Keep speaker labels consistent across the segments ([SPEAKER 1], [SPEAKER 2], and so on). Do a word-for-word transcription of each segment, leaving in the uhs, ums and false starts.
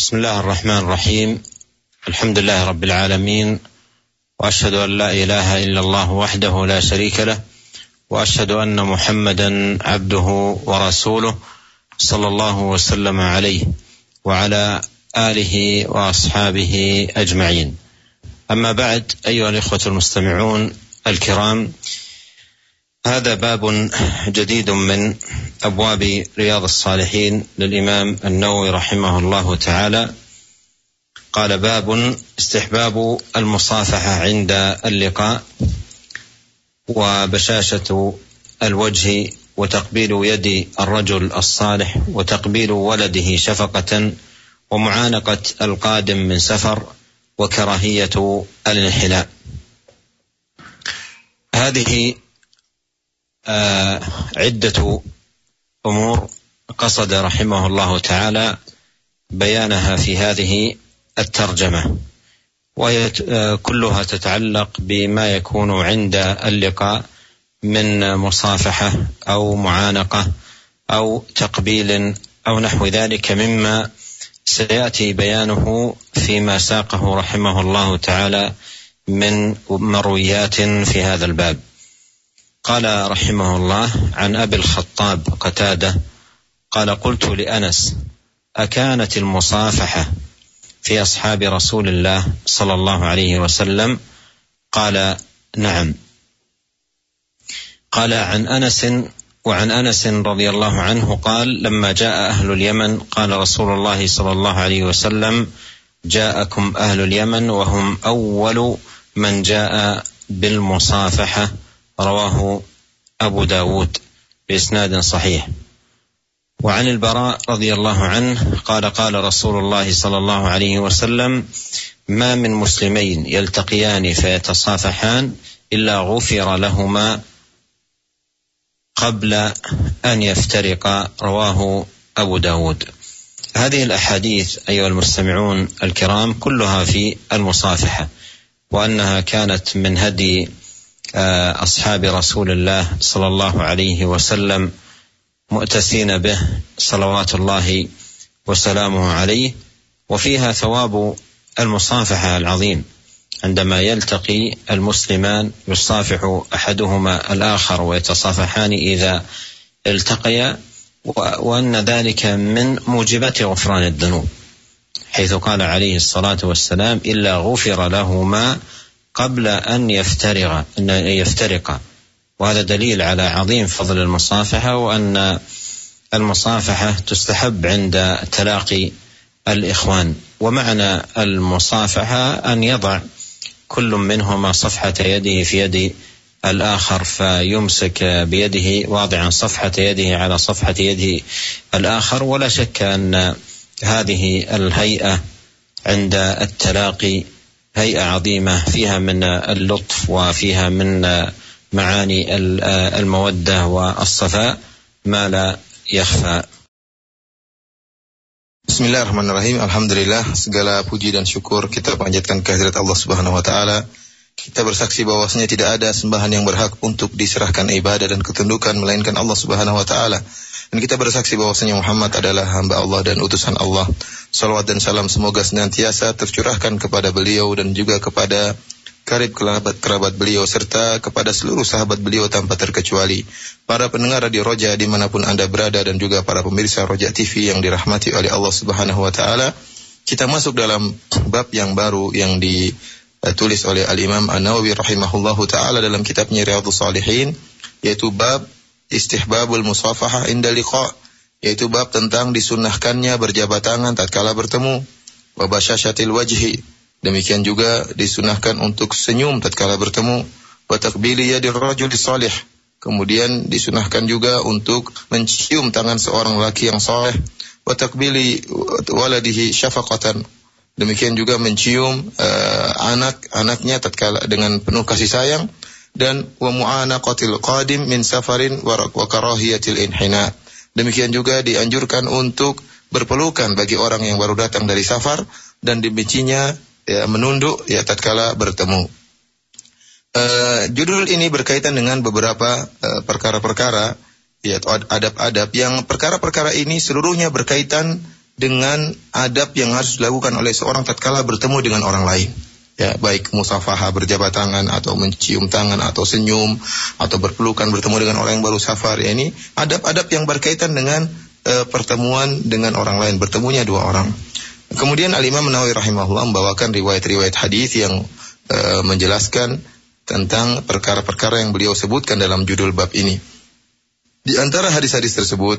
[SPEAKER 1] بسم الله الرحمن الرحيم. الحمد لله رب العالمين، وأشهد أن لا إله إلا الله وحده لا شريك له، وأشهد أن محمدا عبده ورسوله صلى الله وسلم عليه وعلى آله وأصحابه أجمعين. أما بعد، أيها الإخوة المستمعون الكرام، هذا باب جديد من أبواب رياض الصالحين للإمام النووي رحمه الله تعالى. قال: باب استحباب المصافحة عند اللقاء، وبشاشة الوجه، وتقبيل يد الرجل الصالح، وتقبيل ولده شفقة، ومعانقة القادم من سفر، وكراهية الانحناء. هذه آه عدة أمور قصد رحمه الله تعالى بيانها في هذه الترجمة، وهي كلها تتعلق بما يكون عند اللقاء من مصافحة أو معانقة أو تقبيل أو نحو ذلك، مما سيأتي بيانه فيما ساقه رحمه الله تعالى من مرويات في هذا الباب. قال رحمه الله: عن أبي الخطاب قتادة قال: قلت لأنس: أكانت المصافحة في أصحاب رسول الله صلى الله عليه وسلم؟ قال: نعم. قال: عن أنس وعن أنس رضي الله عنه قال: لما جاء أهل اليمن قال رسول الله صلى الله عليه وسلم: جاءكم أهل اليمن وهم أول من جاء بالمصافحة. رواه أبو داود بإسناد صحيح. وعن البراء رضي الله عنه قال: قال رسول الله صلى الله عليه وسلم: ما من مسلمين يلتقيان فيتصافحان إلا غفر لهما قبل أن يفترقا. رواه أبو داود. هذه الأحاديث أيها المستمعون الكرام كلها في المصافحة، وأنها كانت من هدي أصحاب رسول الله صلى الله عليه وسلم مؤتسين به صلوات الله وسلامه عليه، وفيها ثواب المصافحة العظيم. عندما يلتقي المسلمان يصافح أحدهما الآخر ويتصافحان إذا التقيا، وأن ذلك من موجبات غفران الذنوب، حيث قال عليه الصلاة والسلام: إلا غفر لهما قبل أن يفترق أن يفترق. وهذا دليل على عظيم فضل المصافحة، وأن المصافحة تستحب عند تلاقي الإخوان. ومعنى المصافحة أن يضع كل منهما صفحة يده في يد الآخر، فيمسك بيده واضعا صفحة يده على صفحة يده الآخر. ولا شك أن هذه الهيئة عند التلاقي هيئة عظيمة، فيها من اللطف وفيها من معاني المودة والصفاء ما لا يخفى.
[SPEAKER 2] Bismillahirrahmanirrahim. Alhamdulillah, segala puji dan syukur kita panjatkan kehadirat Allah Subhanahu wa taala. Kita bersaksi bahwasanya tidak ada sembahan yang berhak untuk diserahkan ibadah dan ketundukan melainkan Allah Subhanahu wa taala. Dan kita bersaksi bahwasanya Muhammad adalah hamba Allah dan utusan Allah. Salawat dan salam semoga senantiasa tercurahkan kepada beliau dan juga kepada karib kerabat-kerabat beliau serta kepada seluruh sahabat beliau tanpa terkecuali. Para pendengar Radio Roja dimanapun Anda berada dan juga para pemirsa Roja T V yang dirahmati oleh Allah Subhanahu wa taala. Kita masuk dalam bab yang baru yang ditulis oleh Al-Imam An-Nawawi rahimahullahu taala dalam kitabnya Riyadhus Shalihin, yaitu bab istihbabul musafahah inda liqa, yaitu bab tentang disunnahkannya berjabat tangan tatkala bertemu. Wa basyashatil wajhi, demikian juga disunnahkan untuk senyum tatkala bertemu. Wa taqbili yadir rajuli salih, kemudian disunnahkan juga untuk mencium tangan seorang laki yang saleh. Wa taqbili waladihi syafaqatan, demikian juga mencium uh, anak-anaknya tatkala dengan penuh kasih sayang. Dan wa mu'anaqatil qadim min safarin wa karahiyatil inhina, demikian juga dianjurkan untuk berpelukan bagi orang yang baru datang dari safar dan dibencinya ya, menunduk ya tatkala bertemu. Uh, judul ini berkaitan dengan beberapa uh, perkara-perkara ya adab-adab yang perkara-perkara ini seluruhnya berkaitan dengan adab yang harus dilakukan oleh seorang tatkala bertemu dengan orang lain. Ya, baik musafahah berjabat tangan atau mencium tangan atau senyum atau berpelukan bertemu dengan orang yang baru safar, ya ini adab-adab yang berkaitan dengan e, pertemuan dengan orang lain, bertemunya dua orang. Kemudian Al-Imam Nawawi rahimahullah membawakan riwayat-riwayat hadis yang e, menjelaskan tentang perkara-perkara yang beliau sebutkan dalam judul bab ini. Di antara hadis-hadis tersebut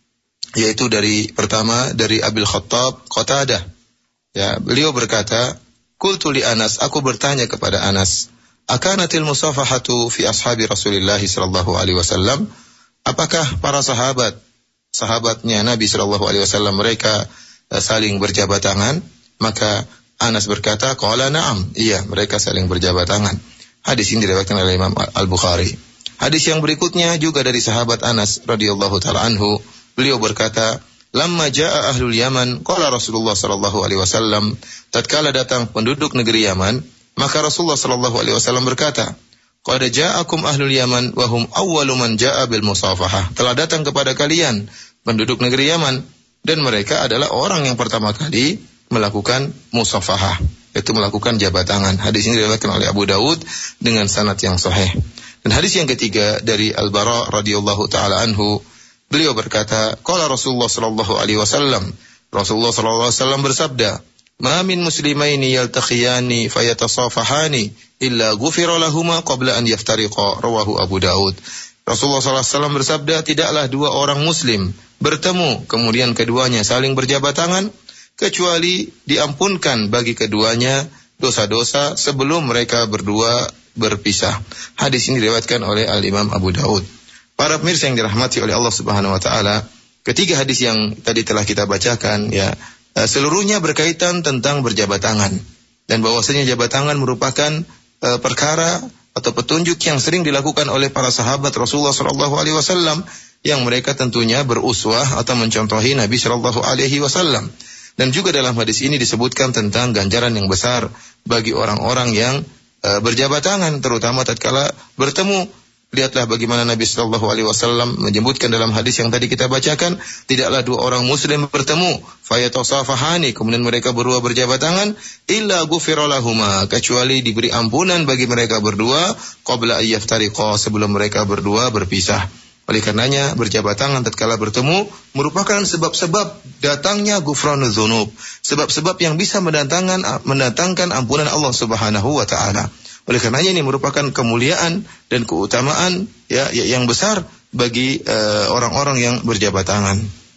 [SPEAKER 2] yaitu dari pertama dari Abil Khattab Qatadah, ya, beliau berkata, qultu li Anas, aku bertanya kepada Anas, akanatil musafahatu fi ashabi Rasulillah sallallahu alaihi wasallam? Apakah para sahabat, sahabatnya Nabi sallallahu alaihi wasallam mereka uh, saling berjabat tangan? Maka Anas berkata, qala na'am, iya, mereka saling berjabat tangan. Hadis ini diriwayatkan oleh Imam Al-Bukhari. Hadis yang berikutnya juga dari sahabat Anas radhiyallahu taala anhu, beliau berkata, lamma jaa ahlul Yaman, qala Rasulullah sallallahu alaihi wasallam, tatkala datang penduduk negeri Yaman, maka Rasulullah sallallahu alaihi wasallam berkata, qad ja'akum ahlul Yaman wa hum awwalu man jaa bil musafahah. Telah datang kepada kalian penduduk negeri Yaman dan mereka adalah orang yang pertama kali melakukan musafahah, yaitu melakukan jabat tangan. Hadis ini diriwayatkan oleh Abu Daud dengan sanad yang sahih. Dan hadis yang ketiga dari Al-Bara radhiyallahu taala anhu, beliau berkata, qala Rasulullah sallallahu alaihi wasallam, Rasulullah sallallahu alaihi wasallam bersabda, ma min muslimaini yaltaqiyani fayatasafahani illa ghufira lahumā qabla an yaftariqa, rawahu Abu Daud. Rasulullah sallallahu alaihi wasallam bersabda, tidaklah dua orang muslim bertemu kemudian keduanya saling berjabat tangan kecuali diampunkan bagi keduanya dosa-dosa sebelum mereka berdua berpisah. Hadis ini diriwayatkan oleh Al-Imam Abu Daud. Para pemirsa yang dirahmati oleh Allah Subhanahu wa taala, ketiga hadis yang tadi telah kita bacakan, ya, seluruhnya berkaitan tentang berjabat tangan, dan bahwasanya jabat tangan merupakan uh, perkara atau petunjuk yang sering dilakukan oleh para sahabat Rasulullah sallallahu alaihi wasallam yang mereka tentunya beruswah atau mencontohi Nabi sallallahu alaihi wasallam. Dan juga dalam hadis ini disebutkan tentang ganjaran yang besar bagi orang-orang yang uh, berjabat tangan, terutama tatkala bertemu. Lihatlah bagaimana Nabi sallallahu alaihi wasallam menyebutkan dalam hadis yang tadi kita bacakan, tidaklah dua orang muslim bertemu fayatasafahani, kemudian mereka berdua berjabat tangan, illa ghufira lahumā, kecuali diberi ampunan bagi mereka berdua qabla ayyaftariqa, sebelum mereka berdua berpisah. Oleh karenanya berjabat tangan tatkala bertemu merupakan sebab-sebab datangnya ghufranudz dzunub, sebab-sebab yang bisa mendatangkan mendatangkan ampunan Allah Subhanahu wa taala. Oleh karenanya ini merupakan kemuliaan dan keutamaan, ya, yang besar bagi uh, orang-orang yang berjabat tangan.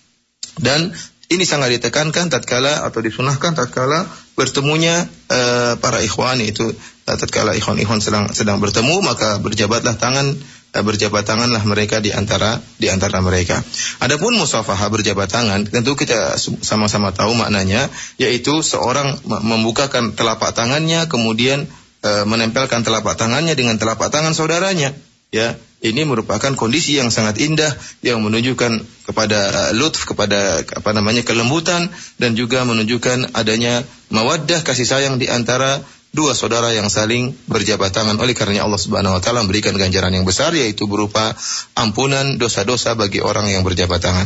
[SPEAKER 2] Dan ini sangat ditekankan tatkala atau disunahkan tatkala bertemunya uh, para ikhwan, itu uh, tatkala ikhwan-ikhwan sedang sedang bertemu, maka berjabatlah tangan, uh, berjabat tanganlah mereka di antara di antara mereka. Adapun musafahah berjabat tangan, tentu kita sama-sama tahu maknanya, yaitu seorang membukakan telapak tangannya kemudian menempelkan telapak tangannya dengan telapak tangan saudaranya, ya. Ini merupakan kondisi yang sangat indah yang menunjukkan kepada uh, lutf, kepada apa namanya kelembutan, dan juga menunjukkan adanya mawaddah, kasih sayang di antara dua saudara yang saling berjabat tangan. Oleh karenanya Allah Subhanahu wa taala memberikan ganjaran yang besar, yaitu berupa ampunan dosa-dosa bagi orang yang berjabat tangan.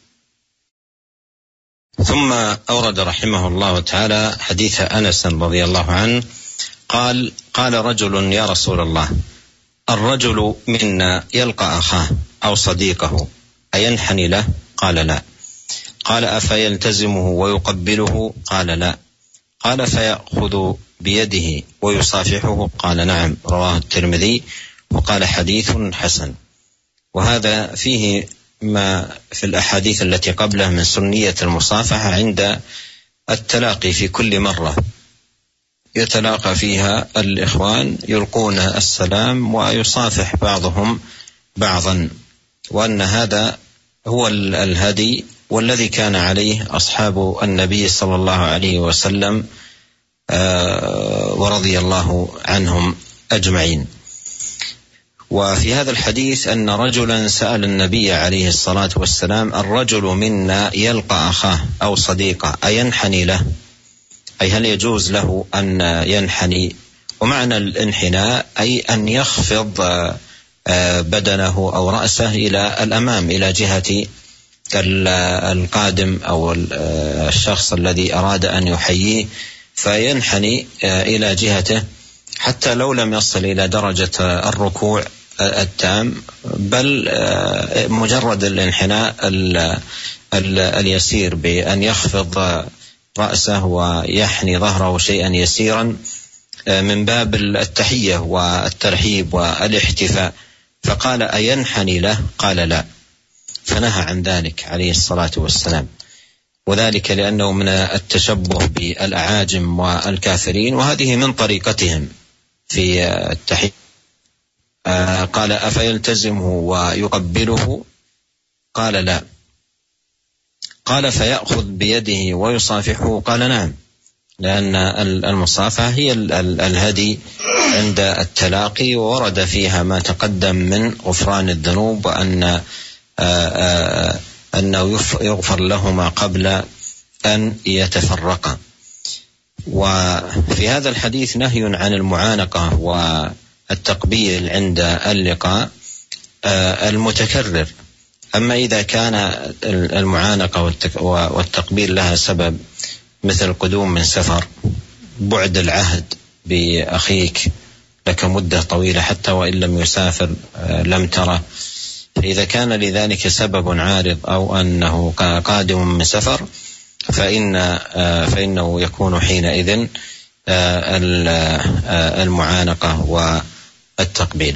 [SPEAKER 1] ثم أورد رحمه الله تعالى حديث أنس رضي الله عنه قال قال رجل يا رسول الله الرجل منا يلقى أخاه أو صديقه أينحني له؟ قال لا. قال أفيلتزمه ويقبله؟ قال لا. قال فيأخذ بيده ويصافحه؟ قال نعم. رواه الترمذي وقال حديث حسن. وهذا فيه ما في الأحاديث التي قبله من سنية المصافحة عند التلاقي في كل مرة يتلاقى فيها الإخوان يلقون السلام ويصافح بعضهم بعضا، وأن هذا هو الهدي والذي كان عليه أصحاب النبي صلى الله عليه وسلم ورضي الله عنهم أجمعين. وفي هذا الحديث أن رجلا سأل النبي عليه الصلاة والسلام الرجل منا يلقى أخاه أو صديقه أينحني له؟ أي هل يجوز له أن ينحني؟ ومعنى الانحناء أي أن يخفض بدنه أو رأسه إلى الأمام إلى جهة القادم أو الشخص الذي أراد أن يحييه فينحني إلى جهته حتى لو لم يصل إلى درجة الركوع التام، بل مجرد الانحناء اليسير بأن يخفض رأسه ويحني ظهره شيئا يسيرا من باب التحية والترحيب والاحتفاء. فقال أينحني له؟ قال لا، فنهى عن ذلك عليه الصلاة والسلام، وذلك لأنه من التشبه بالأعاجم والكافرين، وهذه من طريقتهم في التحية. قال أفيلتزمه ويقبله؟ قال لا. قال فيأخذ بيده ويصافحه؟ قال نعم، لأن المصافحة هي الهدي عند التلاقي، وورد فيها ما تقدم من غفران الذنوب، وأن أنه يغفر لهما قبل أن يتفرقا. وفي هذا الحديث نهي عن المعانقة والتقبيل عند اللقاء المتكرر. أما إذا كان المعانقة والتقبيل لها سبب، مثل قدوم من سفر، بعد العهد بأخيك لك مدة طويلة حتى وإن لم يسافر لم تره، فإذا كان لذلك سبب عارض أو أنه قادم من سفر فإن فإنه يكون حينئذ المعانقة والتقبيل.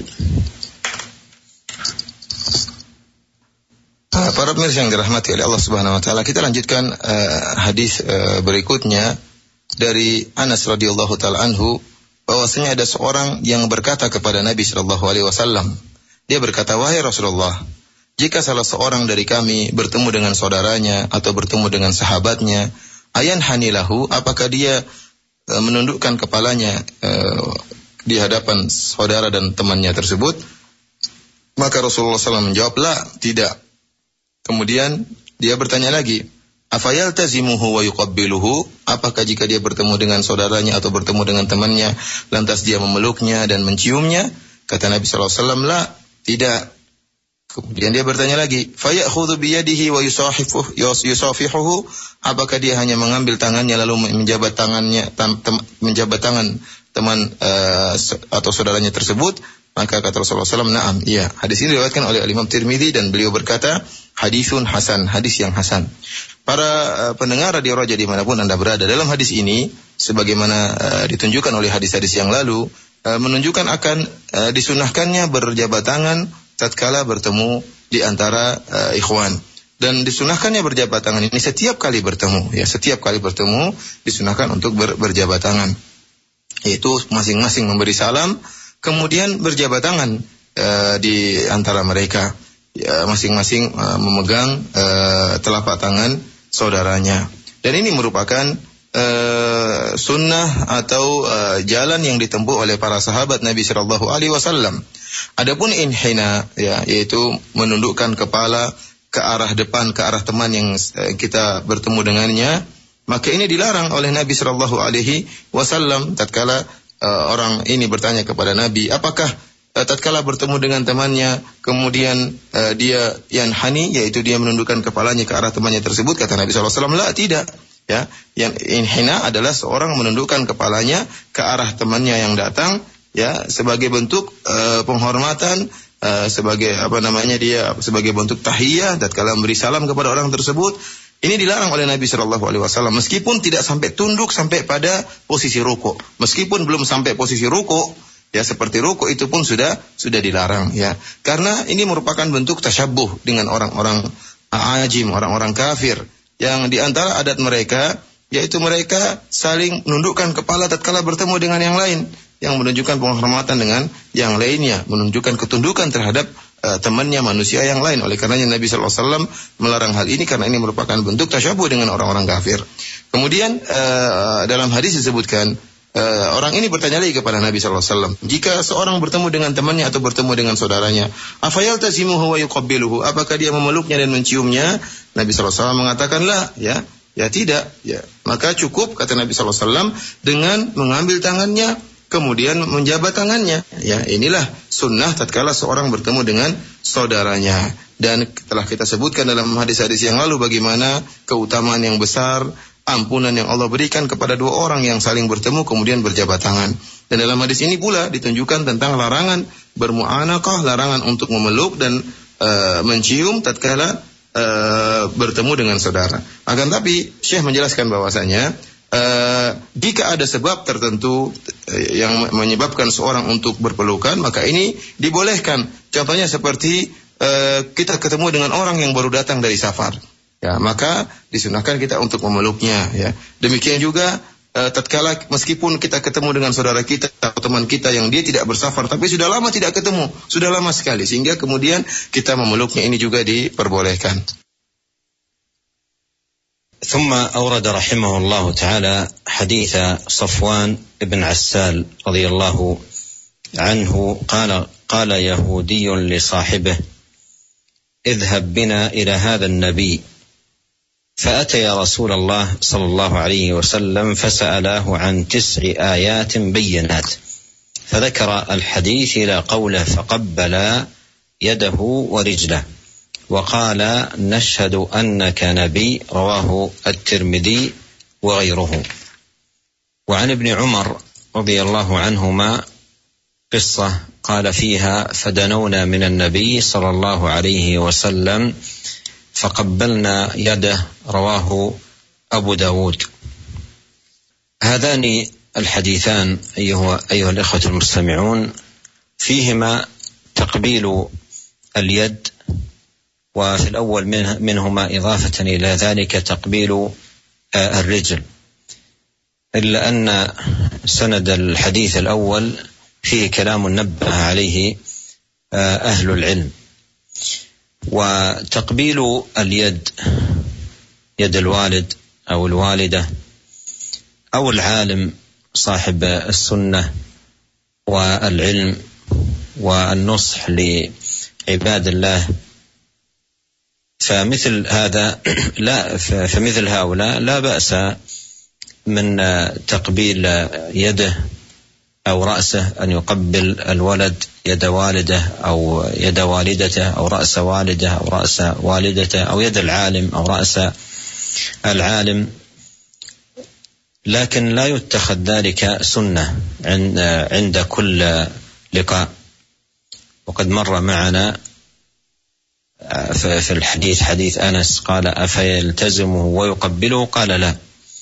[SPEAKER 2] Para pemirsa yang dirahmati oleh Allah Subhanahu wa taala, kita lanjutkan uh, hadis uh, berikutnya dari Anas radhiyallahu taala anhu, bahwasanya ada seorang yang berkata kepada Nabi sallallahu alaihi wasallam. Dia berkata, wahai Rasulullah, jika salah seorang dari kami bertemu dengan saudaranya atau bertemu dengan sahabatnya, ayan hanilahu, apakah dia uh, menundukkan kepalanya uh, di hadapan saudara dan temannya tersebut? Maka Rasulullah sallallahu alaihi wasallam menjawab, la, tidak. Kemudian dia bertanya lagi, afayaltazimuhu wa yuqabbiluhu, apakah jika dia bertemu dengan saudaranya atau bertemu dengan temannya lantas dia memeluknya dan menciumnya? Kata Nabi sallallahu alaihi wasallam, la, tidak. Kemudian dia bertanya lagi, fayakhudhu biyadihi wa yusahifuhu yusafihuhu, apakah dia hanya mengambil tangannya lalu menjabat tangannya tam, tem, menjabat tangan teman uh, atau saudaranya tersebut? Maka kata Rasulullah sallallahu alaihi wasallam, na'am, iya. Hadis ini diriwayatkan oleh Imam Tirmidzi dan beliau berkata, hadisun hasan, hadis yang hasan. Para uh, pendengar radio Raja dimanapun Anda berada, dalam hadis ini, sebagaimana uh, ditunjukkan oleh hadis-hadis yang lalu, uh, menunjukkan akan uh, disunahkannya berjabat tangan tatkala bertemu di antara uh, ikhwan. Dan disunahkannya berjabat tangan ini setiap kali bertemu, ya, setiap kali bertemu disunahkan untuk ber, berjabat tangan. Yaitu masing-masing memberi salam, kemudian berjabat tangan uh, di antara mereka, ya, masing-masing uh, memegang uh, telapak tangan saudaranya. Dan ini merupakan uh, sunnah atau uh, jalan yang ditempuh oleh para sahabat Nabi sallallahu alaihi wasallam. Adapun inhina, ya, yaitu menundukkan kepala ke arah depan, ke arah teman yang uh, kita bertemu dengannya, maka ini dilarang oleh Nabi sallallahu alaihi wasallam. Tatkala Uh, orang ini bertanya kepada Nabi, apakah uh, tatkala bertemu dengan temannya kemudian uh, dia yanhani, yaitu dia menundukkan kepalanya ke arah temannya tersebut? Kata Nabi sallallahu alaihi wasallam, la, tidak. Ya, yang inhina adalah seorang menundukkan kepalanya ke arah temannya yang datang, ya, sebagai bentuk uh, penghormatan, uh, sebagai apa namanya dia sebagai bentuk tahiyah tatkala memberi salam kepada orang tersebut. Ini dilarang oleh Nabi sallallahu alaihi wasallam, meskipun tidak sampai tunduk sampai pada posisi ruku. Meskipun belum sampai posisi ruku, ya, seperti ruku itu pun sudah sudah dilarang, ya. Karena ini merupakan bentuk tasyabbuh dengan orang-orang ajim, orang-orang kafir, yang di antara adat mereka yaitu mereka saling menundukkan kepala tatkala bertemu dengan yang lain, yang menunjukkan penghormatan dengan yang lainnya, menunjukkan ketundukan terhadap Uh, temannya manusia yang lain. Oleh karenanya Nabi sallallahu alaihi wasallam melarang hal ini karena ini merupakan bentuk tasyabuh dengan orang-orang kafir. Kemudian uh, dalam hadis disebutkan uh, orang ini bertanya lagi kepada Nabi sallallahu alaihi wasallam, jika seorang bertemu dengan temannya atau bertemu dengan saudaranya, afayaltazimuhu wa yuqabbiluhu, apakah dia memeluknya dan menciumnya? Nabi sallallahu alaihi wasallam mengatakan, la, ya, ya tidak, ya. Maka cukup, kata Nabi sallallahu alaihi wasallam, dengan mengambil tangannya kemudian menjabat tangannya. Ya, inilah sunnah tatkala seorang bertemu dengan saudaranya. Dan telah kita sebutkan dalam hadis-hadis yang lalu bagaimana keutamaan yang besar, ampunan yang Allah berikan kepada dua orang yang saling bertemu kemudian berjabat tangan. Dan dalam hadis ini pula ditunjukkan tentang larangan bermu'anaqah, larangan untuk memeluk dan uh, mencium tatkala uh, bertemu dengan saudara. Akan tapi Syekh menjelaskan bahwasanya Uh, jika ada sebab tertentu uh, yang menyebabkan seorang untuk berpelukan, maka ini dibolehkan. Contohnya seperti uh, kita ketemu dengan orang yang baru datang dari safar, ya, maka disunahkan kita untuk memeluknya. Ya. Demikian juga uh, tatkala meskipun kita ketemu dengan saudara kita atau teman kita yang dia tidak bersafar, tapi sudah lama tidak ketemu, sudah lama sekali, sehingga kemudian kita memeluknya, ini juga diperbolehkan.
[SPEAKER 1] ثم أورد رحمه الله تعالى حديث صفوان بن عسال رضي الله عنه قال قال يهودي لصاحبه اذهب بنا إلى هذا النبي فأتي رسول الله صلى الله عليه وسلم فسألاه عن تسع آيات بينات فذكر الحديث إلى قوله فقبل يده ورجله وقال نشهد أنك نبي رواه الترمذي وغيره. وعن ابن عمر رضي الله عنهما قصة قال فيها فدنونا من النبي صلى الله عليه وسلم فقبلنا يده رواه أبو داود. هذان الحديثان أيها, أيها الإخوة المستمعون فيهما تقبيل اليد، وفي الأول منهما إضافة إلى ذلك تقبيل الرجل، إلا أن سند الحديث الأول فيه كلام نبه عليه أهل العلم. وتقبيل اليد، يد الوالد أو الوالدة أو العالم صاحب السنة والعلم والنصح لعباد الله، فمثل هذا لا فمثل هؤلاء لا بأس من تقبيل يده أو رأسه، أن يقبل الولد يد والده أو يد والدته أو رأس والده أو رأس والدته أو يد العالم أو رأس العالم، لكن لا يتخذ ذلك سنة عند كل لقاء. وقد مر معنا في الحديث حديث أنس قال أفيلتزمه ويقبله؟ قال لا.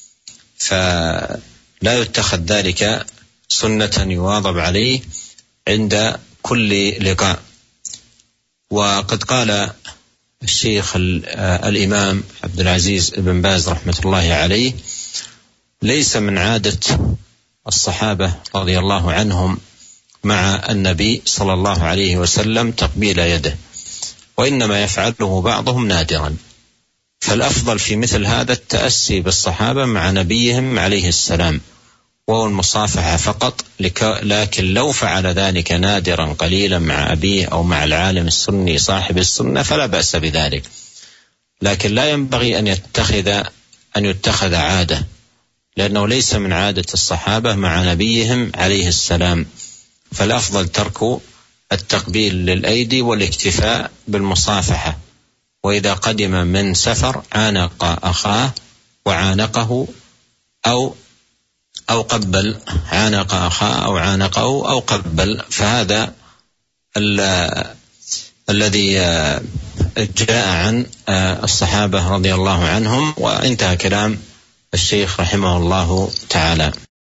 [SPEAKER 1] فلا يتخذ ذلك سنة يواظب عليه عند كل لقاء. وقد قال الشيخ الإمام عبد العزيز بن باز رحمة الله عليه ليس من عادة الصحابة رضي الله عنهم مع النبي صلى الله عليه وسلم تقبيل يده، وإنما يفعله بعضهم نادرا. فالأفضل في مثل هذا التأسي بالصحابة مع نبيهم عليه السلام وهو المصافحة فقط، لكن لو فعل ذلك نادرا قليلا مع أبيه أو مع العالم السني صاحب السنة فلا بأس بذلك، لكن لا ينبغي أن يتخذ أن يتخذ عادة، لأنه ليس من عادة الصحابة مع نبيهم عليه السلام. فالأفضل ترك التقبيل للأيدي والاكتفاء بالمصافحة، وإذا قدم من سفر عانق أخاه وعانقه أو أو قبل عانق أخاه أو عانقه أو قبل، فهذا الذي جاء عن الصحابة رضي الله عنهم. وانتهى كلام الشيخ رحمه الله تعالى.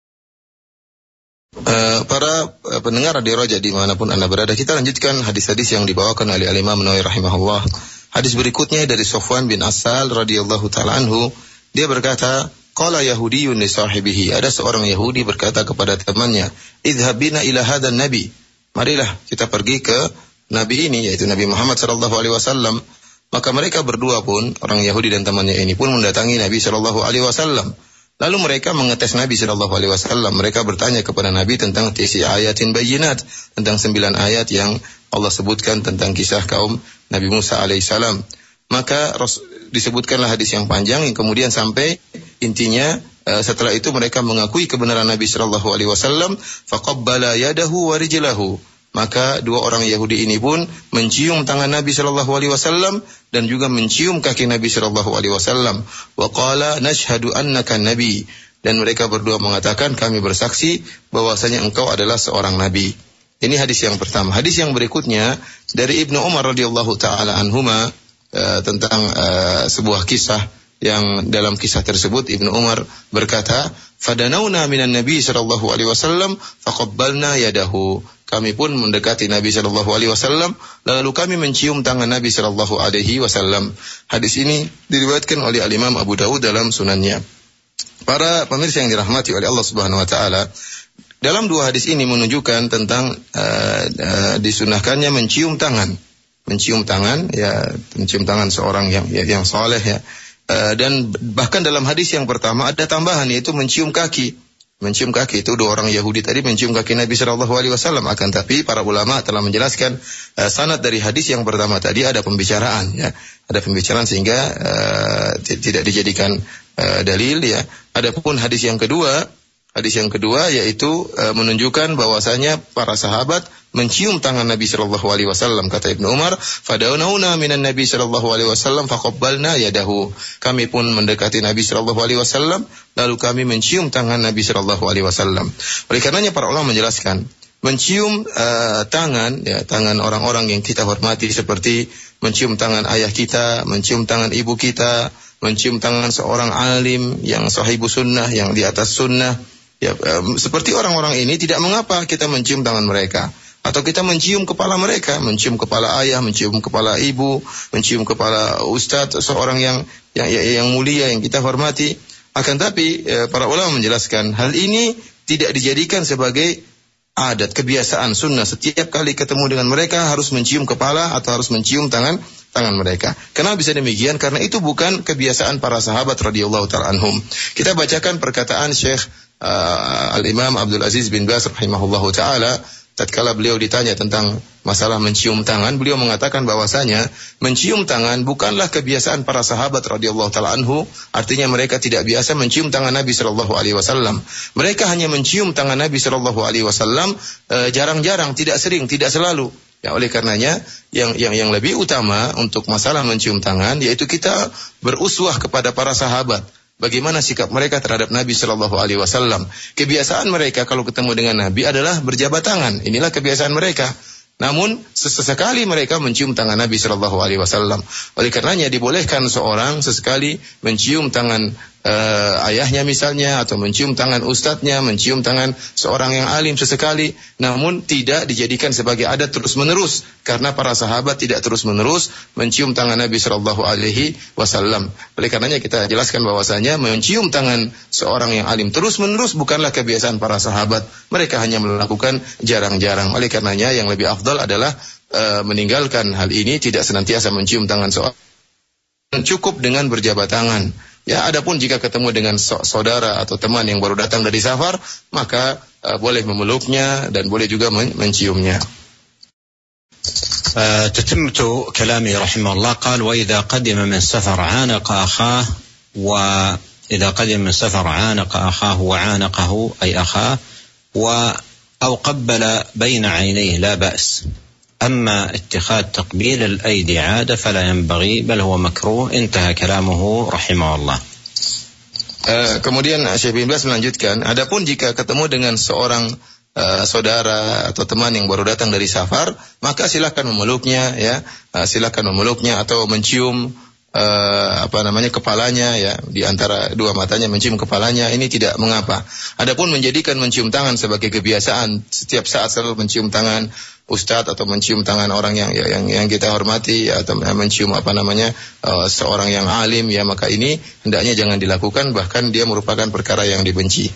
[SPEAKER 2] Uh, para uh, pendengar Radio Raja dimanapun Anda berada, kita lanjutkan hadis-hadis yang dibawakan oleh Al-Imam Nawawi rahimahullah. Hadis berikutnya dari Sofwan bin Asal radhiyallahu ta'ala anhu, dia berkata, qala yahudiyyun li sahibihi, ada seorang Yahudi berkata kepada temannya, idhhab bina ila hadzal nabi, marilah kita pergi ke nabi ini, yaitu Nabi Muhammad sallallahu alaihi wasallam. Maka mereka berdua pun, orang Yahudi dan temannya ini pun mendatangi Nabi sallallahu alaihi wasallam. Lalu mereka mengetes Nabi sallallahu alaihi wasallam. Mereka bertanya kepada Nabi tentang tisi ayatin bayyinat, tentang sembilan ayat yang Allah sebutkan tentang kisah kaum Nabi Musa alaihissalam. Maka disebutkanlah hadis yang panjang yang kemudian sampai intinya uh, setelah itu mereka mengakui kebenaran Nabi sallallahu alaihi wasallam, faqabbala yadahu wa rijlahu. Maka dua orang Yahudi ini pun mencium tangan Nabi sallallahu alaihi wasallam dan juga mencium kaki Nabi sallallahu alaihi wasallam. Wa qala nashhadu annaka nabi. Dan mereka berdua mengatakan, kami bersaksi bahwasanya engkau adalah seorang nabi. Ini hadis yang pertama. Hadis yang berikutnya dari Ibnu Umar radhiyallahu taala anhuma uh, tentang uh, sebuah kisah yang dalam kisah tersebut Ibnu Umar berkata, "Fadanauna minan Nabi sallallahu alaihi wasallam faqabbalna yadahu." Kami pun mendekati Nabi sallallahu alaihi wasallam lalu kami mencium tangan Nabi sallallahu alaihi wasallam. Hadis ini diriwayatkan oleh Al-Imam Abu Dawud dalam sunannya. Para pemirsa yang dirahmati oleh Allah Subhanahu wa taala, dalam dua hadis ini menunjukkan tentang uh, uh, disunahkannya mencium tangan. Mencium tangan ya, mencium tangan seorang yang yang saleh ya. Uh, dan bahkan dalam hadis yang pertama ada tambahan, yaitu mencium kaki. Mencium kaki itu dua orang Yahudi tadi mencium kaki Nabi sallallahu alaihi wasallam. Akan tapi para ulama telah menjelaskan uh, sanad dari hadis yang pertama tadi ada pembicaraan ya, ada pembicaraan sehingga uh, tidak dijadikan uh, dalil ya. Adapun hadis yang kedua, hadis yang kedua yaitu uh, menunjukkan bahwasanya para sahabat mencium tangan Nabi sallallahu alaihi wasallam. Kata Ibnu Umar, "Fadauna minan Nabi sallallahu alaihi wasallam faqabbalna yadahu." Kami pun mendekati Nabi sallallahu alaihi wasallam lalu kami mencium tangan Nabi sallallahu alaihi wasallam. Oleh karenanya para ulama menjelaskan, mencium uh, tangan ya, tangan orang-orang yang kita hormati seperti mencium tangan ayah kita, mencium tangan ibu kita, mencium tangan seorang alim yang sahibu sunnah, yang di atas sunnah ya, uh, seperti orang-orang ini tidak mengapa kita mencium tangan mereka. Atau kita mencium kepala mereka, mencium kepala ayah, mencium kepala ibu, mencium kepala ustadz, seorang yang yang yang mulia yang kita hormati. Akan tapi para ulama menjelaskan hal ini tidak dijadikan sebagai adat, kebiasaan sunnah. Setiap kali ketemu dengan mereka harus mencium kepala atau harus mencium tangan tangan mereka. Kenapa bisa demikian? Karena itu bukan kebiasaan para sahabat radhiyallahu ta'ala anhum. Kita bacakan perkataan Syekh uh, Al-Imam Abdul Aziz bin Baz rahimahullahu ta'ala. Tatkala beliau ditanya tentang masalah mencium tangan, beliau mengatakan bahwasanya mencium tangan bukanlah kebiasaan para sahabat radhiyallahu taala anhu, artinya mereka tidak biasa mencium tangan Nabi sallallahu alaihi wasallam. Mereka hanya mencium tangan Nabi sallallahu alaihi wasallam e, jarang-jarang, tidak sering, tidak selalu. Ya, oleh karenanya yang yang yang lebih utama untuk masalah mencium tangan yaitu kita beruswah kepada para sahabat. Bagaimana sikap mereka terhadap Nabi sallallahu alaihi wasallam. Kebiasaan mereka kalau ketemu dengan Nabi adalah berjabat tangan. Inilah kebiasaan mereka. Namun sesekali mereka mencium tangan Nabi sallallahu alaihi wasallam. Oleh karenanya dibolehkan seorang sesekali mencium tangan uh, ayahnya misalnya, atau mencium tangan ustadznya, mencium tangan seorang yang alim sesekali, namun tidak dijadikan sebagai adat terus-menerus, karena para sahabat tidak terus-menerus mencium tangan Nabi sallallahu alaihi wasallam. Oleh karenanya kita jelaskan bahwasanya mencium tangan seorang yang alim terus-menerus bukanlah kebiasaan para sahabat. Mereka hanya melakukan jarang-jarang. Oleh karenanya yang lebih afdal adalah uh, meninggalkan hal ini, tidak senantiasa mencium tangan seorang. Cukup dengan berjabat tangan. Ya, adapun jika ketemu dengan saudara atau teman yang baru datang dari safar, maka uh, boleh memeluknya dan boleh juga men- menciumnya.
[SPEAKER 1] Uh, تتمة كلامه رحمه الله قال وإذا قدم من سفر عانق أخاه وإذا قدم من سفر عانق أخاه وعانقه أي أخاه و أو قبل بين عينيه لا بأس. أما اتخاذ تقبيل الأيدي عادة فلا ينبغي بل هو مكروه. انتهى كلامه رحمه الله.
[SPEAKER 2] Uh, kemudian Syekh bin Baz melanjutkan, adapun jika ketemu dengan seorang uh, saudara atau teman yang baru datang dari safar, maka silakan memeluknya ya, uh, silakan memeluknya atau mencium uh, apa namanya kepalanya ya, di antara dua matanya mencium kepalanya, ini tidak mengapa. Adapun menjadikan mencium tangan sebagai kebiasaan, setiap saat selalu mencium tangan ustadz atau mencium tangan orang yang yang yang kita hormati ya, atau mencium apa namanya uh, seorang yang alim ya, maka ini hendaknya jangan dilakukan, bahkan dia merupakan perkara yang dibenci.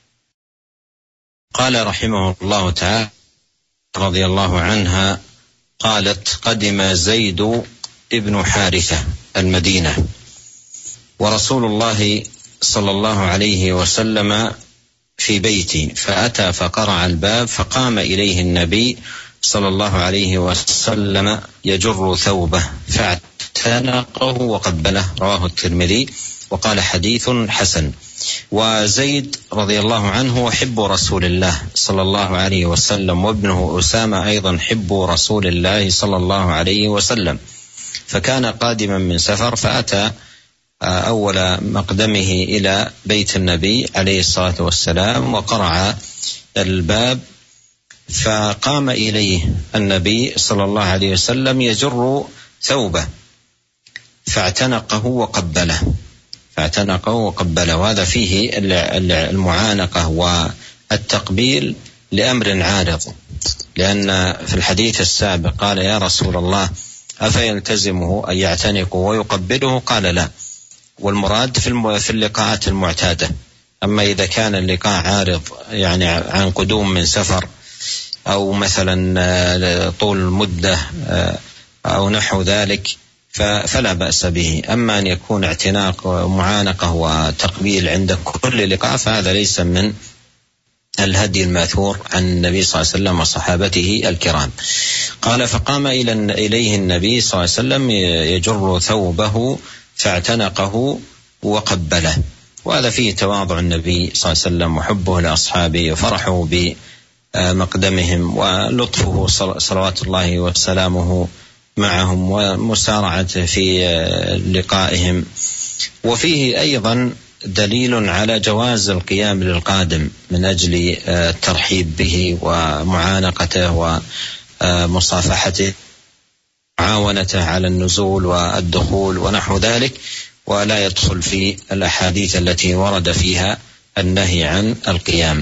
[SPEAKER 1] Qala rahimahullah ta'ala radhiyallahu anha qalat qadima Zaid ibn Harithah al-Madinah wa Rasulullah sallallahu alaihi wasallam في بيتي فأتى فقرع الباب فقام إليه النبي صلى الله عليه وسلم يجر ثوبه فاعتنقه وقبله. رواه الترمذي وقال حديث حسن. وزيد رضي الله عنه حب رسول الله صلى الله عليه وسلم، وابنه أسامة أيضا حب رسول الله صلى الله عليه وسلم. فكان قادما من سفر فأتى أول مقدمه إلى بيت النبي عليه الصلاة والسلام وقرع الباب، فقام إليه النبي صلى الله عليه وسلم يجر ثوبه فاعتنقه وقبله فاعتنقه وقبله وهذا فيه المعانقة والتقبيل لأمر عارض، لأن في الحديث السابق قال يا رسول الله أفيلتزمه أن يعتنقه ويقبله؟ قال لا، والمراد في اللقاءات المعتادة. أما إذا كان اللقاء عارض يعني عن قدوم من سفر أو مثلا طول مدة أو نحو ذلك فلا بأس به. أما أن يكون اعتناق ومعانقة وتقبيل عند كل لقاء فهذا ليس من الهدي الماثور عن النبي صلى الله عليه وسلم وصحابته الكرام. قال فقام إليه النبي صلى الله عليه وسلم يجر ثوبه فاعتنقه وقبله، وهذا فيه تواضع النبي صلى الله عليه وسلم وحبه لأصحابه وفرحه بمقدمهم ولطفه صلوات الله وسلامه معهم ومسارعته في لقائهم. وفيه أيضا دليل على جواز القيام للقادم من أجل الترحيب به ومعانقته ومصافحته معاونته على النزول والدخول ونحو ذلك، ولا يدخل في الأحاديث التي ورد فيها النهي عن القيام.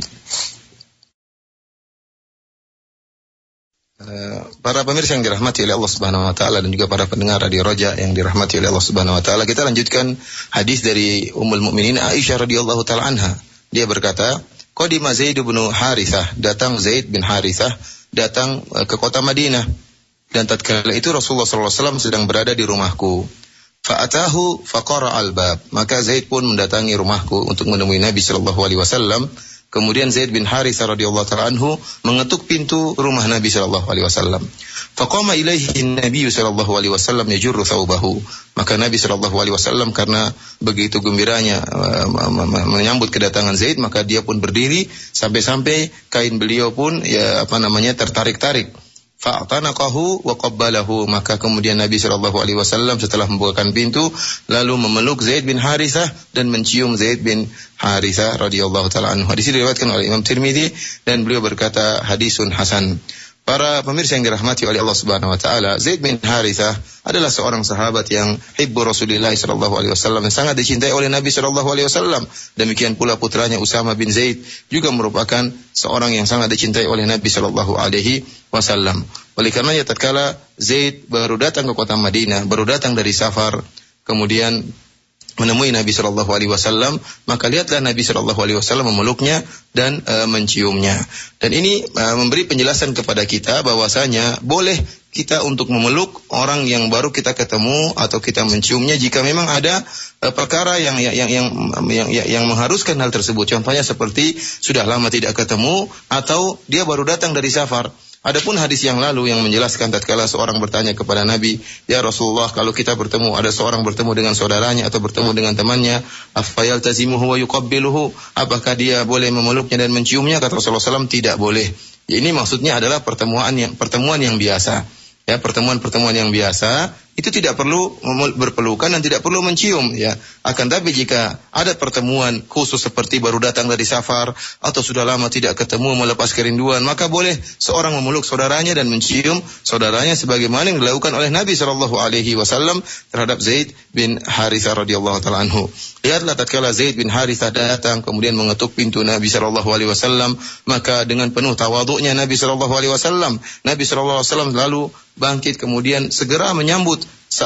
[SPEAKER 2] Para pemirsa yang dirahmati oleh Allah Subhanahu wa taala dan juga para pendengar Radio Roja yang dirahmati oleh Allah Subhanahu wa taala, kita lanjutkan hadis dari Ummul Mukminin Aisyah radhiyallahu taala anha. Dia berkata, "Qadima Zaid bin Harithah, datang Zaid bin Harithah datang ke kota Madinah, dan tatkala itu Rasulullah sallallahu alaihi wasallam sedang berada di rumahku. Fa'atahu faqara al-bab, maka Zaid pun mendatangi rumahku untuk menemui Nabi sallallahu alaihi wasallam. Kemudian Zaid bin Harithah radhiyallahu ta'ala anhu mengetuk pintu rumah Nabi sallallahu alaihi wasallam. Faqama ilaihi Nabi sallallahu alaihi wasallam yajurru thawbahu, maka Nabi sallallahu alaihi wasallam karena begitu gembiranya uh, menyambut kedatangan Zaid, maka dia pun berdiri sampai-sampai kain beliau pun ya apa namanya tertarik-tarik. Fa'tanaqahu wa qabbalahu, maka kemudian Nabi sallallahu alaihi wasallam setelah membukakan pintu lalu memeluk Zaid bin Harithah dan mencium Zaid bin Harithah radhiyallahu taala anhu. Hadis ini diriwayatkan oleh Imam Tirmidzi dan beliau berkata hadisun hasan. Para pemirsa yang dirahmati oleh Allah Subhanahu wa taala, Zaid bin Harithah adalah seorang sahabat yang hibbu Rasulullah sallallahu alaihi wasallam, yang sangat dicintai oleh Nabi sallallahu alaihi wasallam. Demikian pula putranya Usama bin Zaid juga merupakan seorang yang sangat dicintai oleh Nabi sallallahu alaihi wasallam. Oleh karenanya tatkala Zaid baru datang ke kota Madinah, baru datang dari safar, kemudian menemui Nabi sallallahu alaihi wasallam, maka lihatlah Nabi sallallahu alaihi wasallam memeluknya dan uh, menciumnya. Dan ini uh, memberi penjelasan kepada kita bahwasanya boleh kita untuk memeluk orang yang baru kita ketemu atau kita menciumnya jika memang ada uh, perkara yang yang yang yang, yang yang mengharuskan hal tersebut. Contohnya seperti sudah lama tidak ketemu atau dia baru datang dari safar. Adapun hadis yang lalu yang menjelaskan tatkala seorang bertanya kepada Nabi, "Ya Rasulullah, kalau kita bertemu, ada seorang bertemu dengan saudaranya atau bertemu dengan temannya, afayal tazimuhu wa yuqabbiluhu, apakah dia boleh memeluknya dan menciumnya?" Kata Rasulullah sallallahu alaihi wasallam, tidak boleh. Ya, ini maksudnya adalah pertemuan yang pertemuan yang biasa. Ya, pertemuan-pertemuan yang biasa itu tidak perlu berpelukan dan tidak perlu mencium, ya. Akan tapi jika ada pertemuan khusus seperti baru datang dari safar atau sudah lama tidak ketemu melepas kerinduan, maka boleh seorang memeluk saudaranya dan mencium saudaranya sebagaimana yang dilakukan oleh Nabi sallallahu alaihi wasallam terhadap Zaid bin Harithah radhiyallahu taala anhu. Lihatlah tatkala Zaid bin Harithah datang kemudian mengetuk pintu Nabi sallallahu alaihi wasallam, maka dengan penuh tawadhu'nya Nabi sallallahu alaihi wasallam, Nabi sallallahu alaihi wasallam lalu bangkit kemudian segera menyambut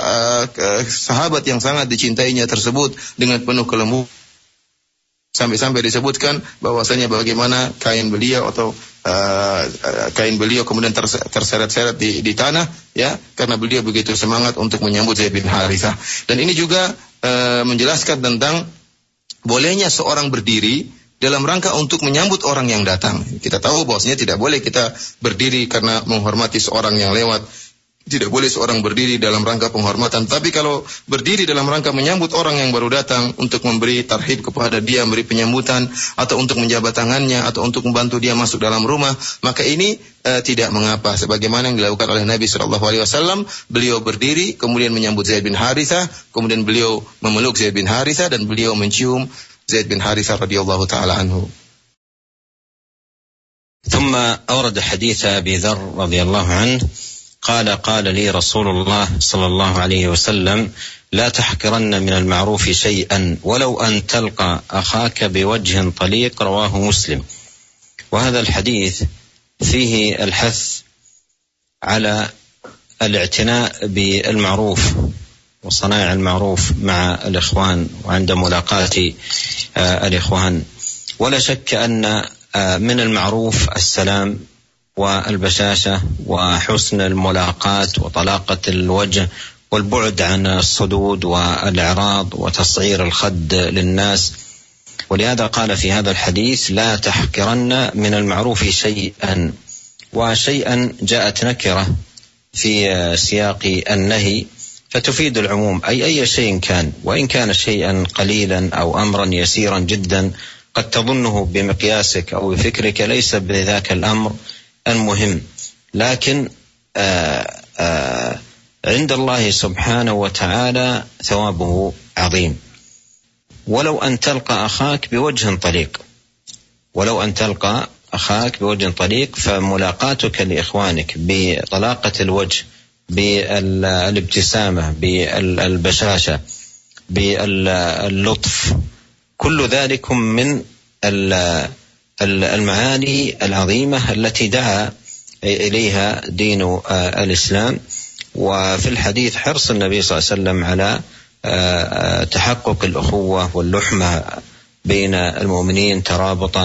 [SPEAKER 2] sahabat yang sangat dicintainya tersebut dengan penuh kelembutan, sampai-sampai disebutkan bahwasanya bagaimana kain beliau atau uh, kain beliau kemudian terseret-seret di, di tanah, ya, karena beliau begitu semangat untuk menyambut Zaid bin Harithah. Dan ini juga uh, menjelaskan tentang bolehnya seorang berdiri dalam rangka untuk menyambut orang yang datang. Kita tahu bahwasanya tidak boleh kita berdiri karena menghormati seorang yang lewat. tidak boleh seorang berdiri dalam rangka penghormatan. Tapi kalau berdiri dalam rangka menyambut orang yang baru datang, untuk memberi tarhib kepada dia, memberi penyambutan, atau untuk menjabat tangannya, atau untuk membantu dia masuk dalam rumah, maka ini uh, tidak mengapa. Sebagaimana yang dilakukan oleh Nabi shallallahu alaihi wasallam, beliau berdiri, kemudian menyambut Zaid bin Harithah, kemudian beliau memeluk Zaid bin Harithah, dan beliau mencium Zaid bin Harithah radhiyallahu ta'ala anhu.
[SPEAKER 1] ثم أورد حديث أبي ذر رضي الله عنه قال قال لي رسول الله صلى الله عليه وسلم لا تحقرن من المعروف شيئا ولو أن تلقى أخاك بوجه طليق، رواه مسلم. وهذا الحديث فيه الحث على الاعتناء بالمعروف وصنائع المعروف مع الإخوان وعند ملاقاة الإخوان. ولا شك أن من المعروف السلام والبشاشة وحسن الملاقاة وطلاقة الوجه والبعد عن الصدود والإعراض وتصعير الخد للناس. ولهذا قال في هذا الحديث لا تحقرن من المعروف شيئا. وشيئا جاءت نكرة في سياق النهي فتفيد العموم، أي أي شيء كان، وإن كان شيئا قليلا أو أمرا يسيرا جدا قد تظنه بمقياسك أو بفكرك ليس بذاك الأمر المهم، لكن آآ آآ عند الله سبحانه وتعالى ثوابه عظيم. ولو أن تلقى أخاك بوجه طليق، ولو أن تلقى أخاك بوجه طليق، فملاقاتك لإخوانك بطلاقة الوجه، بالابتسامة، بالبشاشة، باللطف، كل ذلك من المعاني العظيمة التي دعا إليها دين الإسلام. وفي الحديث حرص النبي صلى الله عليه وسلم على تحقق الأخوة واللحمة بين المؤمنين ترابطا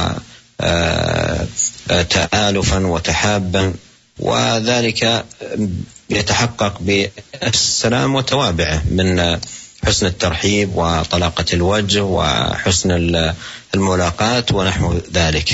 [SPEAKER 1] وتآلفا وتحابا، وذلك يتحقق بالسلام وتوابعه من حسن الترحيب وطلاقة الوجه وحسن الملاقات ونحو ذلك.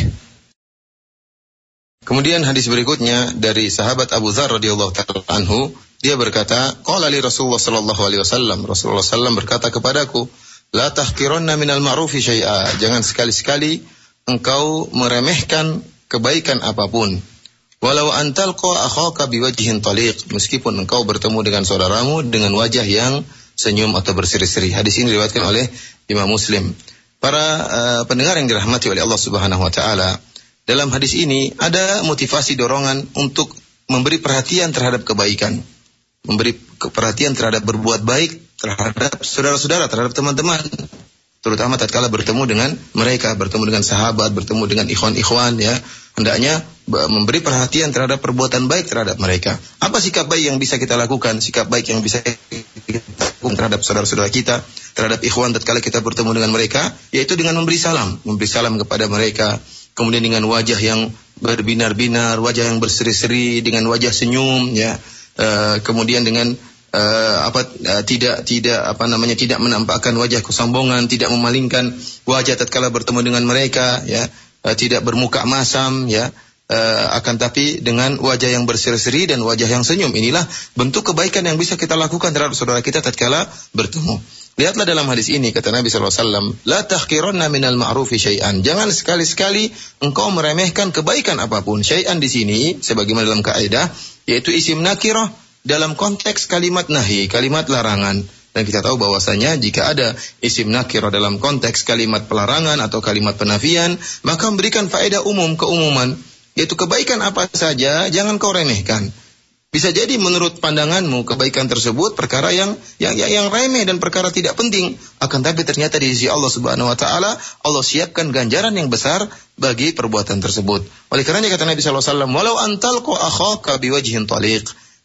[SPEAKER 2] Kemudian hadis berikutnya dari sahabat Abu Dzar radhiyallahu ta'ala anhu, dia berkata, qala li Rasulullah sallallahu alaihi wasallam, Rasulullah sallallahu alaihi wasallam berkata kepadaku, la tahqiranna minal ma'rufi syai'a, jangan sekali-sekali engkau meremehkan kebaikan apapun. Walau antalqa akhaka biwajhin taliq, meskipun engkau bertemu dengan saudaramu dengan wajah yang senyum atau berseri-seri. Hadis ini diriwayatkan oleh Imam Muslim. Para uh, pendengar yang dirahmati oleh Allah Subhanahu wa taala, dalam hadis ini ada motivasi dorongan untuk memberi perhatian terhadap kebaikan, memberi perhatian terhadap berbuat baik terhadap saudara-saudara, terhadap teman-teman, terutama tatkala bertemu dengan mereka, bertemu dengan sahabat, bertemu dengan ikhwan-ikhwan, ya, hendaknya memberi perhatian terhadap perbuatan baik terhadap mereka. Apa sikap baik yang bisa kita lakukan, sikap baik yang bisa kita lakukan terhadap saudara-saudara kita, terhadap ikhwan tatkala kita bertemu dengan mereka, yaitu dengan memberi salam, memberi salam kepada mereka, kemudian dengan wajah yang berbinar-binar, wajah yang berseri-seri, dengan wajah senyum, ya, uh, kemudian dengan Uh, apa uh, tidak tidak apa namanya tidak menampakkan wajah kesombongan, tidak memalingkan wajah tatkala bertemu dengan mereka, ya, uh, tidak bermuka masam, ya, uh, akan tapi dengan wajah yang berseri-seri dan wajah yang senyum. Inilah bentuk kebaikan yang bisa kita lakukan terhadap saudara kita tatkala bertemu. Lihatlah dalam hadis ini kata Nabi sallallahu alaihi wasallam, la tahqiranna minal ma'rufi syai'an, jangan sekali-sekali engkau meremehkan kebaikan apapun. Syai'an di sini sebagaimana dalam kaidah yaitu isim nakirah dalam konteks kalimat nahi, kalimat larangan. Dan kita tahu bahwasanya jika ada isim nakirah dalam konteks kalimat pelarangan atau kalimat penafian, maka memberikan faedah umum, keumuman, yaitu kebaikan apa saja jangan kau remehkan. Bisa jadi menurut pandanganmu kebaikan tersebut perkara yang yang yang, yang remeh dan perkara tidak penting, akan tapi ternyata di sisi Allah Subhanahu wa taala Allah siapkan ganjaran yang besar bagi perbuatan tersebut. Oleh karenanya kata Nabi sallallahu alaihi wasallam, walau antalqa akhaka biwajhin taliq,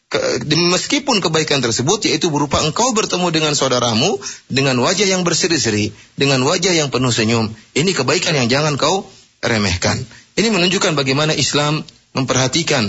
[SPEAKER 2] meskipun kebaikan tersebut yaitu berupa engkau bertemu dengan saudaramu dengan wajah yang berseri-seri, dengan wajah yang penuh senyum, ini kebaikan yang jangan kau remehkan. Ini menunjukkan bagaimana Islam memperhatikan,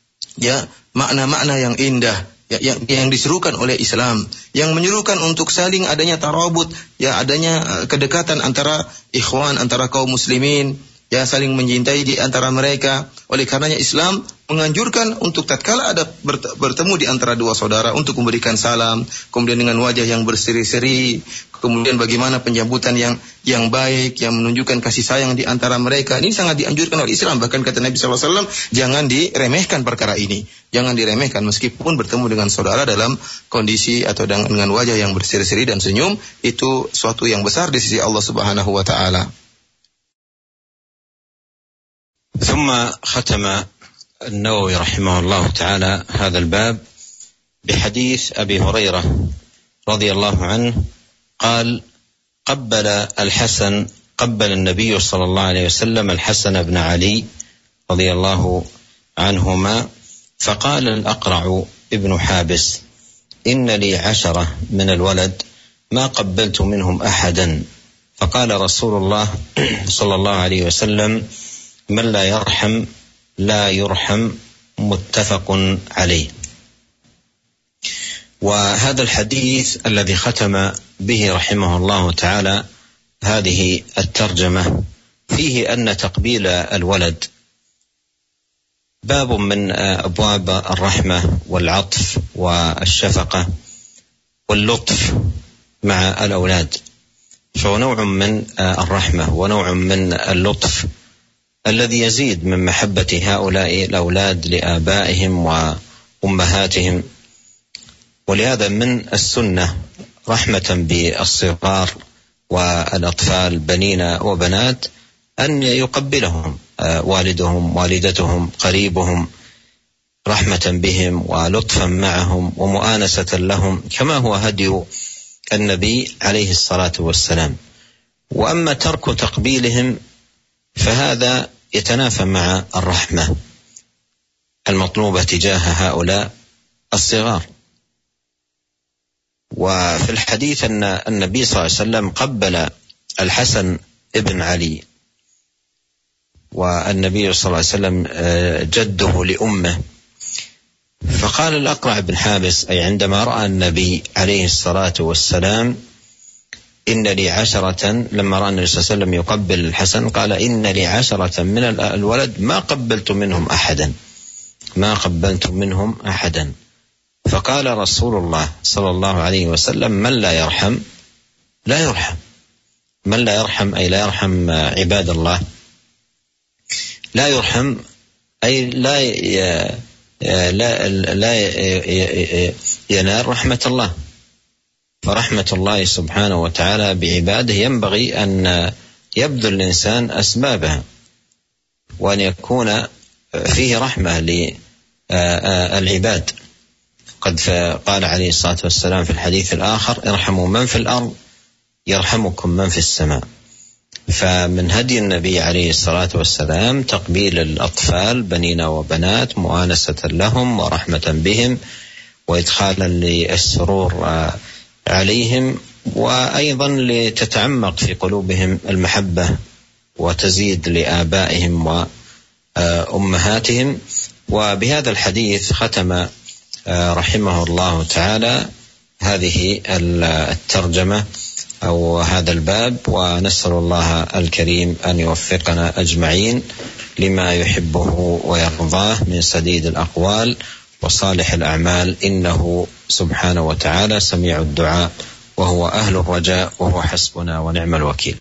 [SPEAKER 2] ya, makna-makna yang indah, ya, yang, yang diserukan oleh Islam, yang menyuruhkan untuk saling adanya tarabut, ya, adanya kedekatan antara ikhwan, antara kaum muslimin, ya saling mencintai di antara mereka. Oleh karenanya Islam menganjurkan untuk tatkala ada bertemu di antara dua saudara untuk memberikan salam, kemudian dengan wajah yang berseri-seri, kemudian bagaimana penyambutan yang yang baik, yang menunjukkan kasih sayang di antara mereka. Ini sangat dianjurkan oleh Islam. Bahkan kata Nabi sallallahu alaihi wasallam, jangan diremehkan perkara ini. Jangan diremehkan meskipun bertemu dengan saudara dalam kondisi atau dengan, dengan wajah yang berseri-seri dan senyum, itu suatu yang besar di sisi Allah Subhanahu wa taala.
[SPEAKER 1] ثم ختم النووي رحمه الله تعالى هذا الباب بحديث أبي هريرة رضي الله عنه قال: قبل الحسن قبل النبي صلى الله عليه وسلم الحسن بن علي رضي الله عنهما فقال الأقرع ابن حابس: إن لي عشرة من الولد ما قبلت منهم أحدا. فقال رسول الله صلى الله عليه وسلم: من لا يرحم لا يرحم. متفق عليه. وهذا الحديث الذي ختم به رحمه الله تعالى هذه الترجمة فيه أن تقبيل الولد باب من أبواب الرحمة والعطف والشفقة واللطف مع الأولاد، فهو نوع من الرحمة ونوع من اللطف الذي يزيد من محبة هؤلاء الأولاد لآبائهم وأمهاتهم. ولهذا من السنة رحمة بالصغار والأطفال بنين وبنات أن يقبلهم والدهم والدتهم قريبهم رحمة بهم ولطفا معهم ومؤانسة لهم كما هو هدي النبي عليه الصلاة والسلام. وأما ترك تقبيلهم فهذا يتنافى مع الرحمة المطلوبة تجاه هؤلاء الصغار. وفي الحديث أن النبي صلى الله عليه وسلم قبل الحسن ابن علي، والنبي صلى الله عليه وسلم جده لأمه، فقال الأقرع بن حابس أي عندما رأى النبي عليه الصلاة والسلام إن لي عشرة، لما رأى النبي صلى الله عليه وسلم يقبل الحسن قال: إن لي عشرة من الولد ما قبلت منهم أحدا ما قبلت منهم أحدا. فقال رسول الله صلى الله عليه وسلم: من لا يرحم لا يرحم. من لا يرحم أي لا يرحم عباد الله، لا يرحم أي لا لا لا ينال رحمة الله. فرحمة الله سبحانه وتعالى بعباده ينبغي أن يبذل الإنسان أسبابها، وأن يكون فيه رحمة للعباد. قد قال عليه الصلاة والسلام في الحديث الآخر: ارحموا من في الأرض يرحمكم من في السماء. فمن هدي النبي عليه الصلاة والسلام تقبيل الأطفال بنين وبنات مؤانسة لهم ورحمة بهم وإدخالا للسرور عليهم، وأيضا لتتعمق في قلوبهم المحبة وتزيد لآبائهم وأمهاتهم. وبهذا الحديث ختم رحمه الله تعالى هذه الترجمة أو هذا الباب، ونسأل الله الكريم أن يوفقنا أجمعين لما يحبه ويرضاه من سديد الأقوال وصالح الأعمال، إنه سبحانه وتعالى سميع الدعاء وهو أهل الرجاء وهو حسبنا ونعم الوكيل.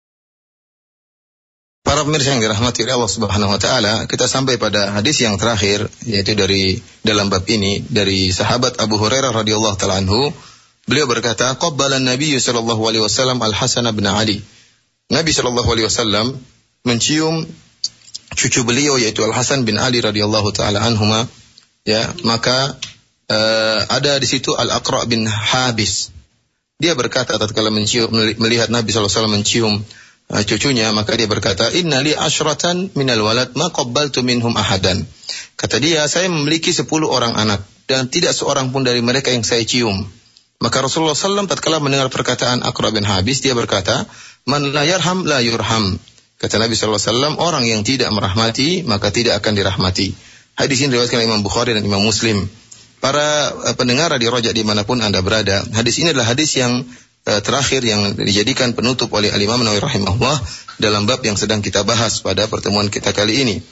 [SPEAKER 2] Para pemirsa yang dirahmati oleh Allah Subhanahu wa taala, kita sampai pada hadis yang terakhir, yaitu dari dalam bab ini dari sahabat Abu Hurairah radhiyallahu taala anhu. Beliau berkata, qabbala an-nabiy sallallahu alaihi wasallam al-Hasan bin Ali. Nabi sallallahu alaihi wasallam mencium cucu beliau yaitu Al-Hasan bin Ali radhiyallahu taala anhuma. Ya, maka uh, ada di situ Al-Aqra bin Habis. Dia berkata tatkala mencium melihat Nabi sallallahu alaihi wasallam mencium uh, cucunya, maka dia berkata, "Inna li asyratan minal walad ma qabbaltu minhum ahadan." Kata dia, saya memiliki sepuluh orang anak dan tidak seorang pun dari mereka yang saya cium. Maka Rasulullah sallallahu alaihi wasallam tatkala mendengar perkataan Aqra bin Habis, dia berkata, "Man la yarham la yurham." Kata Nabi sallallahu alaihi wasallam, orang yang tidak merahmati maka tidak akan dirahmati. Hadis ini diriwayatkan Imam Bukhari dan Imam Muslim. Para uh, pendengar di Roja dimanapun Anda berada, hadis ini adalah hadis yang uh, terakhir yang dijadikan penutup oleh Al-Imam Nawawi rahimahullah dalam bab yang sedang kita bahas pada pertemuan kita kali ini.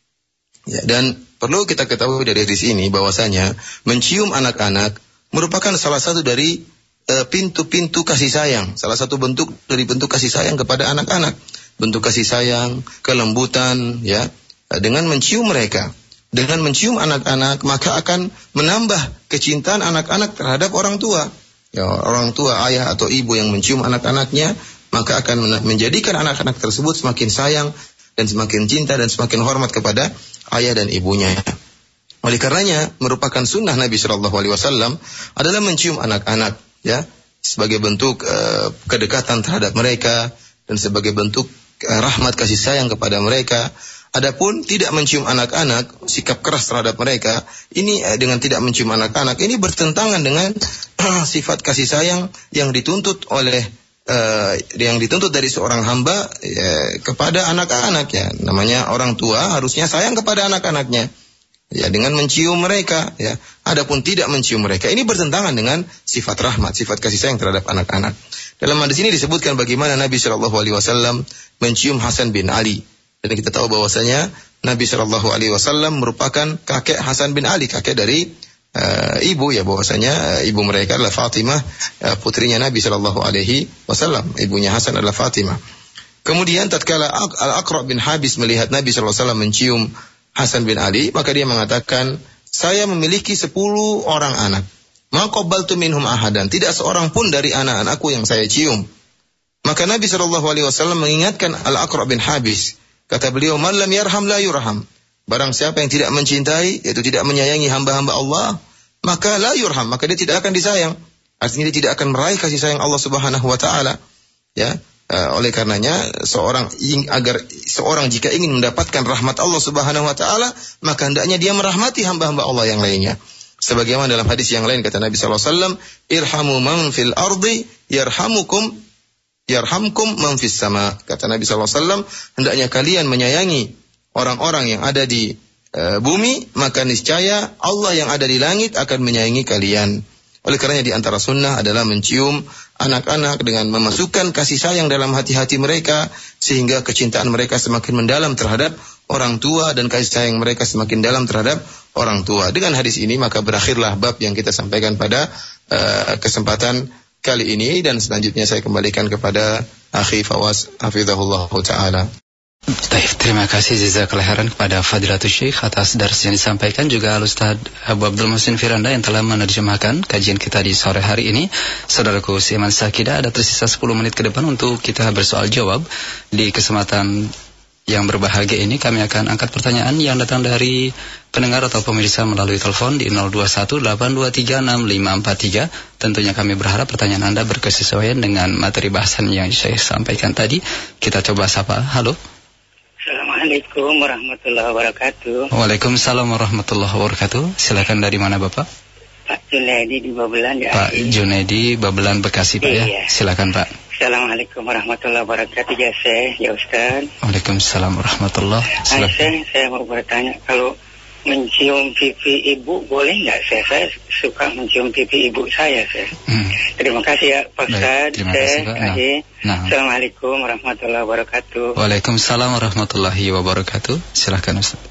[SPEAKER 2] Ya, dan perlu kita ketahui dari hadis ini bahwasanya mencium anak-anak merupakan salah satu dari uh, pintu-pintu kasih sayang, salah satu bentuk dari bentuk kasih sayang kepada anak-anak. Bentuk kasih sayang, kelembutan, ya, dengan mencium mereka. Dengan mencium anak-anak maka akan menambah kecintaan anak-anak terhadap orang tua. Ya, orang tua, ayah atau ibu yang mencium anak-anaknya maka akan menjadikan anak-anak tersebut semakin sayang dan semakin cinta dan semakin hormat kepada ayah dan ibunya. Oleh karenanya merupakan sunnah Nabi Shallallahu Alaihi Wasallam adalah mencium anak-anak, ya, sebagai bentuk uh, kedekatan terhadap mereka dan sebagai bentuk uh, rahmat kasih sayang kepada mereka. Adapun tidak mencium anak-anak, sikap keras terhadap mereka, ini uh, dengan tidak mencium anak-anak ini bertentangan dengan uh, sifat kasih sayang yang dituntut oleh Uh, yang dituntut dari seorang hamba ya, kepada anak-anak, ya. Namanya orang tua harusnya sayang kepada anak-anaknya, ya, dengan mencium mereka, ya. Adapun tidak mencium mereka ini bertentangan dengan sifat rahmat, sifat kasih sayang terhadap anak-anak. Dalam hadis ini disebutkan bagaimana Nabi Shallallahu Alaihi Wasallam mencium Hasan bin Ali, dan kita tahu bahwasanya Nabi Shallallahu Alaihi Wasallam merupakan kakek Hasan bin Ali, kakek dari Uh, ibu, ya, bahwasanya uh, ibu mereka adalah Fatimah, uh, putrinya Nabi Shallallahu Alaihi Wasallam. Ibunya Hasan adalah Fatimah. Kemudian tatkala Al-Aqra' bin Habis melihat Nabi Shallallahu Alaihi Wasallam mencium Hasan bin Ali, maka dia mengatakan, saya memiliki sepuluh orang anak. Ma qabbaltu minhum ahadan, tidak seorang pun dari anak-anakku yang saya cium. Maka Nabi Shallallahu Alaihi Wasallam mengingatkan Al-Aqra' bin Habis. Kata beliau, man lam yarham la yurham. Barang siapa yang tidak mencintai, yaitu tidak menyayangi hamba-hamba Allah, maka la yurham, maka dia tidak akan disayang. Artinya dia tidak akan meraih kasih sayang Allah Subhanahu wa taala. Ya, uh, oleh karenanya seorang agar seorang jika ingin mendapatkan rahmat Allah Subhanahu wa taala, maka hendaknya dia merahmati hamba-hamba Allah yang lainnya. Sebagaimana dalam hadis yang lain kata Nabi sallallahu alaihi wasallam, irhamu man fil ardi yarhamukum yarhamkum man fis sama. Kata Nabi sallallahu alaihi wasallam, hendaknya kalian menyayangi orang-orang yang ada di e, bumi, maka niscaya Allah yang ada di langit akan menyayangi kalian. Oleh karenanya di antara sunnah adalah mencium anak-anak dengan memasukkan kasih sayang dalam hati-hati mereka, sehingga kecintaan mereka semakin mendalam terhadap orang tua dan kasih sayang mereka semakin dalam terhadap orang tua. Dengan hadis ini maka berakhirlah bab yang kita sampaikan pada e, kesempatan kali ini, dan selanjutnya saya kembalikan kepada Akhi Fawaz hafizahullah taala.
[SPEAKER 3] Baik, terima kasih jazakallahu khairan kepada Fadilatul Syekh atas dars yang disampaikan, juga Al-Ustaz Abu Abdul Muhsin Firanda yang telah menerjemahkan kajian kita di sore hari ini. Saudaraku Iman Sakidah, ada tersisa sepuluh menit ke depan untuk kita bersoal jawab. Di kesempatan yang berbahagia ini kami akan angkat pertanyaan yang datang dari pendengar atau pemirsa melalui telepon di nol dua satu delapan dua tiga enam lima empat tiga. Tentunya kami berharap pertanyaan Anda berkesesuaian dengan materi bahasan yang saya sampaikan tadi. Kita coba sapa. Halo.
[SPEAKER 4] Assalamualaikum warahmatullahi wabarakatuh.
[SPEAKER 3] Waalaikumsalam warahmatullahi wabarakatuh. Silakan, dari mana Bapak?
[SPEAKER 4] Pak Junaidi di Babelan, ya.
[SPEAKER 3] Pak Junaidi, Babelan, Bekasi, Pak, iya. Ya. Silakan, Pak.
[SPEAKER 4] Assalamualaikum warahmatullahi wabarakatuh, ya Syekh, ya Ustaz.
[SPEAKER 3] Waalaikumsalam warahmatullahi wabarakatuh.
[SPEAKER 4] Syekh, saya mau bertanya, kalau mencium pipi ibu boleh nggak, Syekh? Saya suka mencium pipi ibu saya, Syekh. Hmm. Terima kasih ya Pak Ustaz.
[SPEAKER 3] Terima kasih, Pak. Nah. Nah.
[SPEAKER 4] Assalamualaikum warahmatullahi wabarakatuh.
[SPEAKER 3] Waalaikumsalam warahmatullahi wabarakatuh. Silakan Ustaz.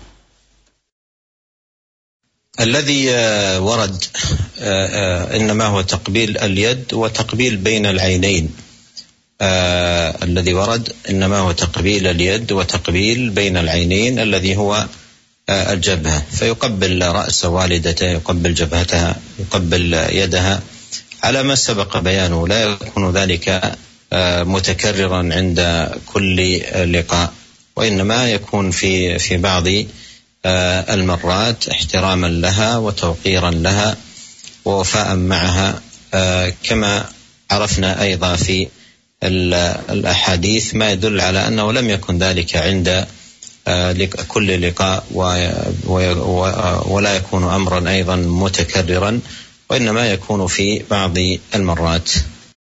[SPEAKER 1] الذي ورد إنما هو تقبيل اليد وتقبيل بين العينين. الذي ورد إنما هو تقبيل اليد وتقبيل بين العينين الذي هو الجبهة، فيقبل رأس والدته، يقبل جبهتها، يقبل يدها على ما سبق بيانه. لا يكون ذلك متكررا عند كل لقاء، وإنما يكون في في بعض المرات احتراما لها وتوقيرا لها ووفاء معها، كما عرفنا أيضا في الأحاديث ما يدل على أنه لم يكن ذلك عند كل لقاء، ولا يكون أمرا أيضا متكررا، وإنما يكون في بعض المرات.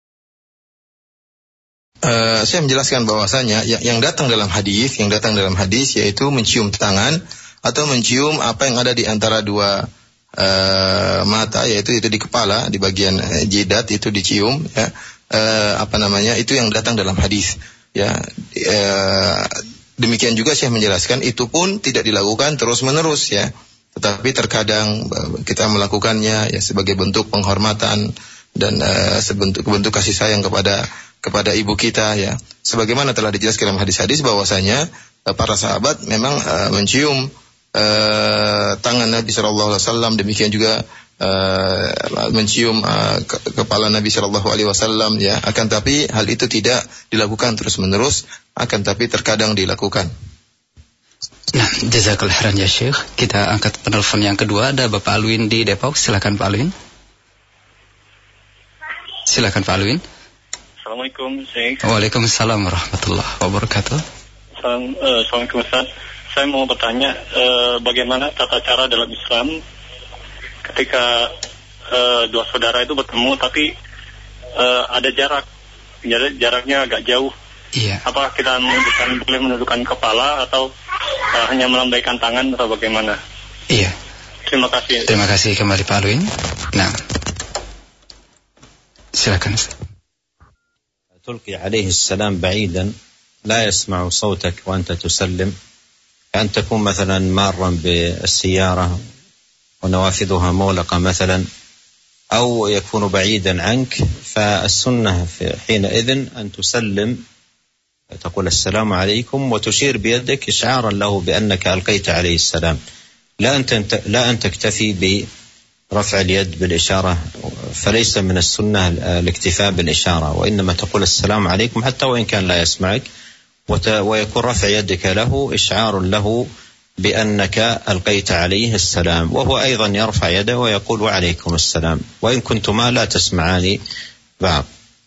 [SPEAKER 2] Uh, saya menjelaskan bahwasanya yang, yang datang dalam hadis, yang datang dalam hadis yaitu mencium tangan atau mencium apa yang ada di antara dua uh, mata, yaitu itu di kepala, di bagian uh, jidat itu dicium, ya. Uh, apa namanya, itu yang datang dalam hadis. ya uh, demikian juga Syekh menjelaskan itu pun tidak dilakukan terus-menerus ya. Tetapi terkadang kita melakukannya ya sebagai bentuk penghormatan dan uh, sebentuk bentuk kasih sayang kepada kepada ibu kita ya. Sebagaimana telah dijelaskan dalam hadis-hadis bahwasanya uh, para sahabat memang uh, mencium uh, tangan Nabi sallallahu alaihi wasallam, demikian juga uh, mencium uh, ke- kepala Nabi sallallahu alaihi wasallam ya. Akan tapi hal itu tidak dilakukan terus-menerus, akan tapi terkadang dilakukan.
[SPEAKER 3] Nah, jazakallah khairan ya Syekh. Kita angkat penelpon yang kedua, ada Bapak Alwin di Depok. Silakan Pak Alwin. Silakan Pak Alwin.
[SPEAKER 5] Assalamualaikum Syekh.
[SPEAKER 3] Waalaikumsalam warahmatullahi wabarakatuh.
[SPEAKER 5] Salam, uh, Assalamualaikum Ustaz. Saya mau bertanya uh, bagaimana tata cara dalam Islam ketika uh, dua saudara itu bertemu tapi uh, ada jarak, jarak jaraknya agak jauh.
[SPEAKER 3] Iya.
[SPEAKER 5] Apa kita menundukkan, boleh menundukkan kepala atau uh, hanya melambaikan tangan atau bagaimana?
[SPEAKER 3] Iya.
[SPEAKER 5] Terima kasih.
[SPEAKER 3] Terima kasih kembali Pak Alwin. Nah, silakan Ustaz.
[SPEAKER 1] تلقي عليه السلام بعيدا لا يسمع صوتك وأنت تسلم، كأن تكون مثلا مارا بالسيارة ونوافذها مغلقة مثلا، أو يكون بعيدا عنك، فالسنة في حينئذ أن تسلم، تقول السلام عليكم وتشير بيدك إشعارا له بأنك ألقيت عليه السلام، لا أن لا أن تكتفي برفع اليد بالإشارة، فليس من السنة الاكتفاء بالإشارة، وإنما تقول السلام عليكم حتى وإن كان لا يسمعك، ويكون رفع يدك له إشعار له بأنك ألقيت عليه السلام، وهو أيضا يرفع يده ويقول وعليكم السلام، وإن كنتما لا تسمعاني بعض.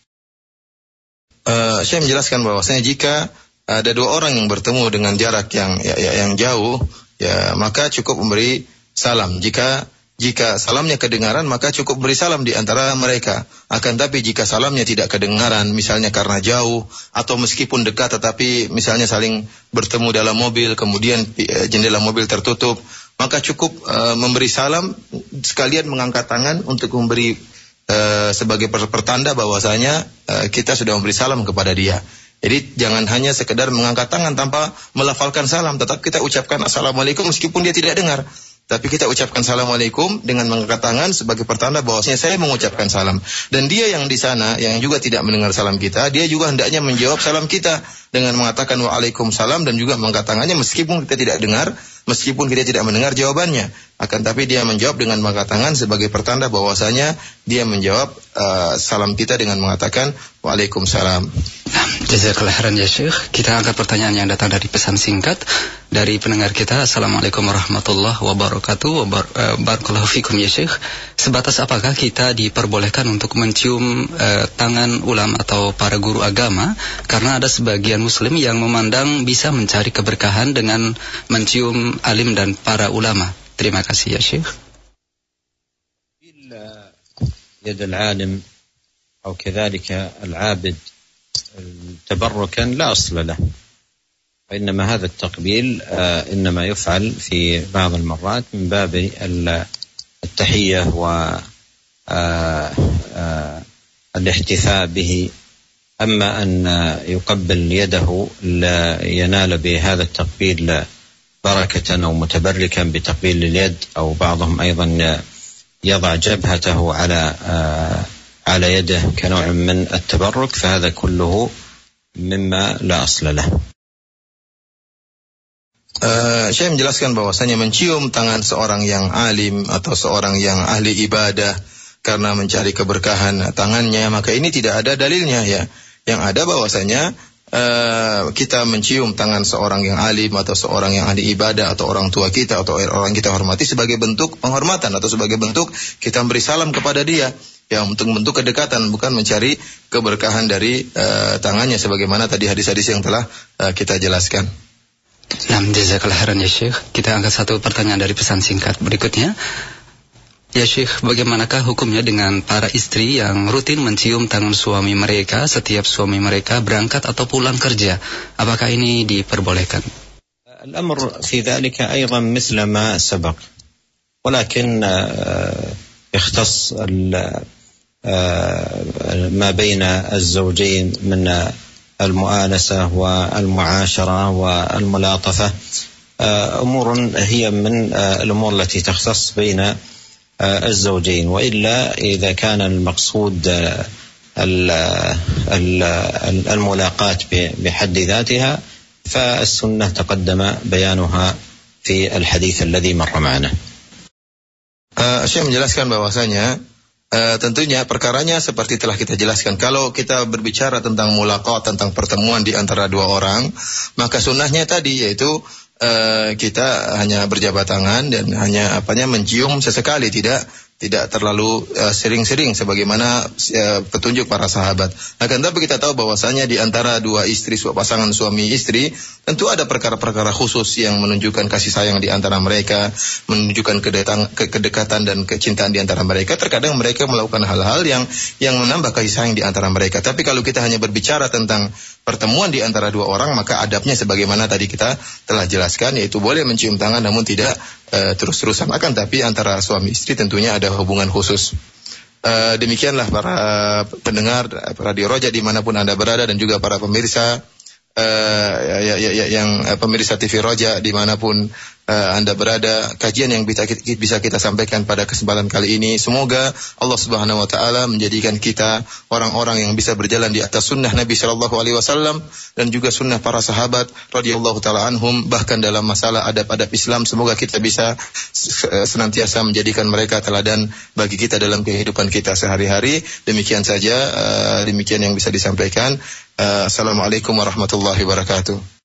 [SPEAKER 2] Uh, saya menjelaskan bahwasanya jika ada dua orang yang bertemu dengan jarak yang ya, ya, yang jauh, ya maka cukup memberi salam. Jika jika salamnya kedengaran, maka cukup beri salam di antara mereka. Akan tapi jika salamnya tidak kedengaran, misalnya karena jauh atau meskipun dekat tetapi misalnya saling bertemu dalam mobil, kemudian jendela mobil tertutup, maka cukup uh, memberi salam sekalian mengangkat tangan untuk memberi uh, sebagai pertanda bahwasanya uh, kita sudah memberi salam kepada dia. Jadi jangan hanya sekedar mengangkat tangan tanpa melafalkan salam, tetap kita ucapkan assalamualaikum meskipun dia tidak dengar. Tapi kita ucapkan assalamualaikum dengan mengangkat tangan sebagai pertanda bahwasanya saya mengucapkan salam. Dan dia yang di sana yang juga tidak mendengar salam kita, dia juga hendaknya menjawab salam kita dengan mengatakan waalaikumsalam dan juga mengangkat tangannya meskipun kita tidak dengar, meskipun kita tidak mendengar jawabannya. Akan tapi dia menjawab dengan mengangkat tangan sebagai pertanda bahwasanya dia menjawab uh, salam kita dengan mengatakan waalaikumsalam.
[SPEAKER 3] Jazakallah khairan ya Syekh. Kita angkat pertanyaan yang datang dari pesan singkat dari pendengar kita. Assalamualaikum warahmatullahi wabarakatuh. Barakallahu fikum ya Syekh. Sebatas apakah kita diperbolehkan untuk mencium uh, tangan ulama atau para guru agama? Karena ada sebagian muslim yang memandang bisa mencari keberkahan dengan mencium alim dan para ulama. Terima kasih ya Syekh.
[SPEAKER 1] يد العالم أو كذلك العابد تبركا لا أصل له، وإنما هذا التقبيل إنما يفعل في بعض المرات من باب التحية والاحتفاء به، أما أن يقبل يده لا ينال بهذا التقبيل بركة أو متبركا بتقبيل اليد، أو بعضهم أيضا يضع جبهته على على يده كنوع من التبرك، فهذا كله مما لا أصل له.
[SPEAKER 2] Uh, saya menjelaskan bahwasanya mencium tangan seorang yang alim atau seorang yang ahli ibadah karena mencari keberkahan tangannya, maka ini tidak ada dalilnya ya. Yang ada bahwasanya uh, kita mencium tangan seorang yang alim atau seorang yang ahli ibadah atau orang tua kita atau orang kita hormati sebagai bentuk penghormatan atau sebagai bentuk kita beri salam kepada dia, ya, untuk bentuk kedekatan, bukan mencari keberkahan dari uh, tangannya sebagaimana tadi hadis-hadis yang telah uh, kita jelaskan.
[SPEAKER 3] Nah, jazakallah khairan ya Syekh. Kita angkat satu pertanyaan dari pesan singkat berikutnya. Ya Syekh, bagaimanakah hukumnya dengan para istri yang rutin mencium tangan suami mereka setiap suami mereka berangkat atau pulang kerja? Apakah ini diperbolehkan?
[SPEAKER 1] الأمر في ذلك أيضا مثل ما سبق، ولكن يختص ما بين الزوجين من والمؤانسة والمعاشرة والملاطفة أمور هي من الأمور التي تختص بين الزوجين، وإلا إذا كان المقصود الملاقاة بحد ذاتها فالسنة تقدم بيانها في الحديث الذي مر معنا.
[SPEAKER 2] Uh, Syekh menjelaskan bahwasanya uh, tentunya perkaranya seperti telah kita jelaskan. Kalau kita berbicara tentang mulaqah, tentang pertemuan di antara dua orang, maka sunnahnya tadi yaitu uh, kita hanya berjabat tangan dan hanya apanya mencium sesekali, tidak tidak terlalu uh, sering-sering sebagaimana uh, petunjuk para sahabat. Akan tetapi kita tahu bahwasanya di antara dua istri, pasangan suami istri, tentu ada perkara-perkara khusus yang menunjukkan kasih sayang di antara mereka, menunjukkan kedetang, ke, kedekatan dan kecintaan di antara mereka. Terkadang mereka melakukan hal-hal yang yang menambah kasih sayang di antara mereka. Tapi kalau kita hanya berbicara tentang pertemuan di antara dua orang, maka adabnya sebagaimana tadi kita telah jelaskan, yaitu boleh mencium tangan namun tidak uh, terus-terusan. Akan tapi antara suami istri tentunya ada hubungan khusus. Uh, demikianlah para pendengar Radio Roja dimanapun Anda berada, dan juga para pemirsa uh, ya, ya, ya, yang uh, pemirsa T V Roja dimanapun uh, Anda berada, kajian yang bisa kita, bisa kita sampaikan pada kesempatan kali ini, semoga Allah Subhanahu Wa Taala menjadikan kita orang-orang yang bisa berjalan di atas sunnah Nabi Shallallahu Alaihi Wasallam dan juga sunnah para sahabat radhiyallahu taala anhum. Bahkan dalam masalah adab-adab Islam, semoga kita bisa senantiasa menjadikan mereka teladan bagi kita dalam kehidupan kita sehari-hari. Demikian saja, uh, demikian yang bisa disampaikan. Uh, Assalamualaikum warahmatullahi wabarakatuh.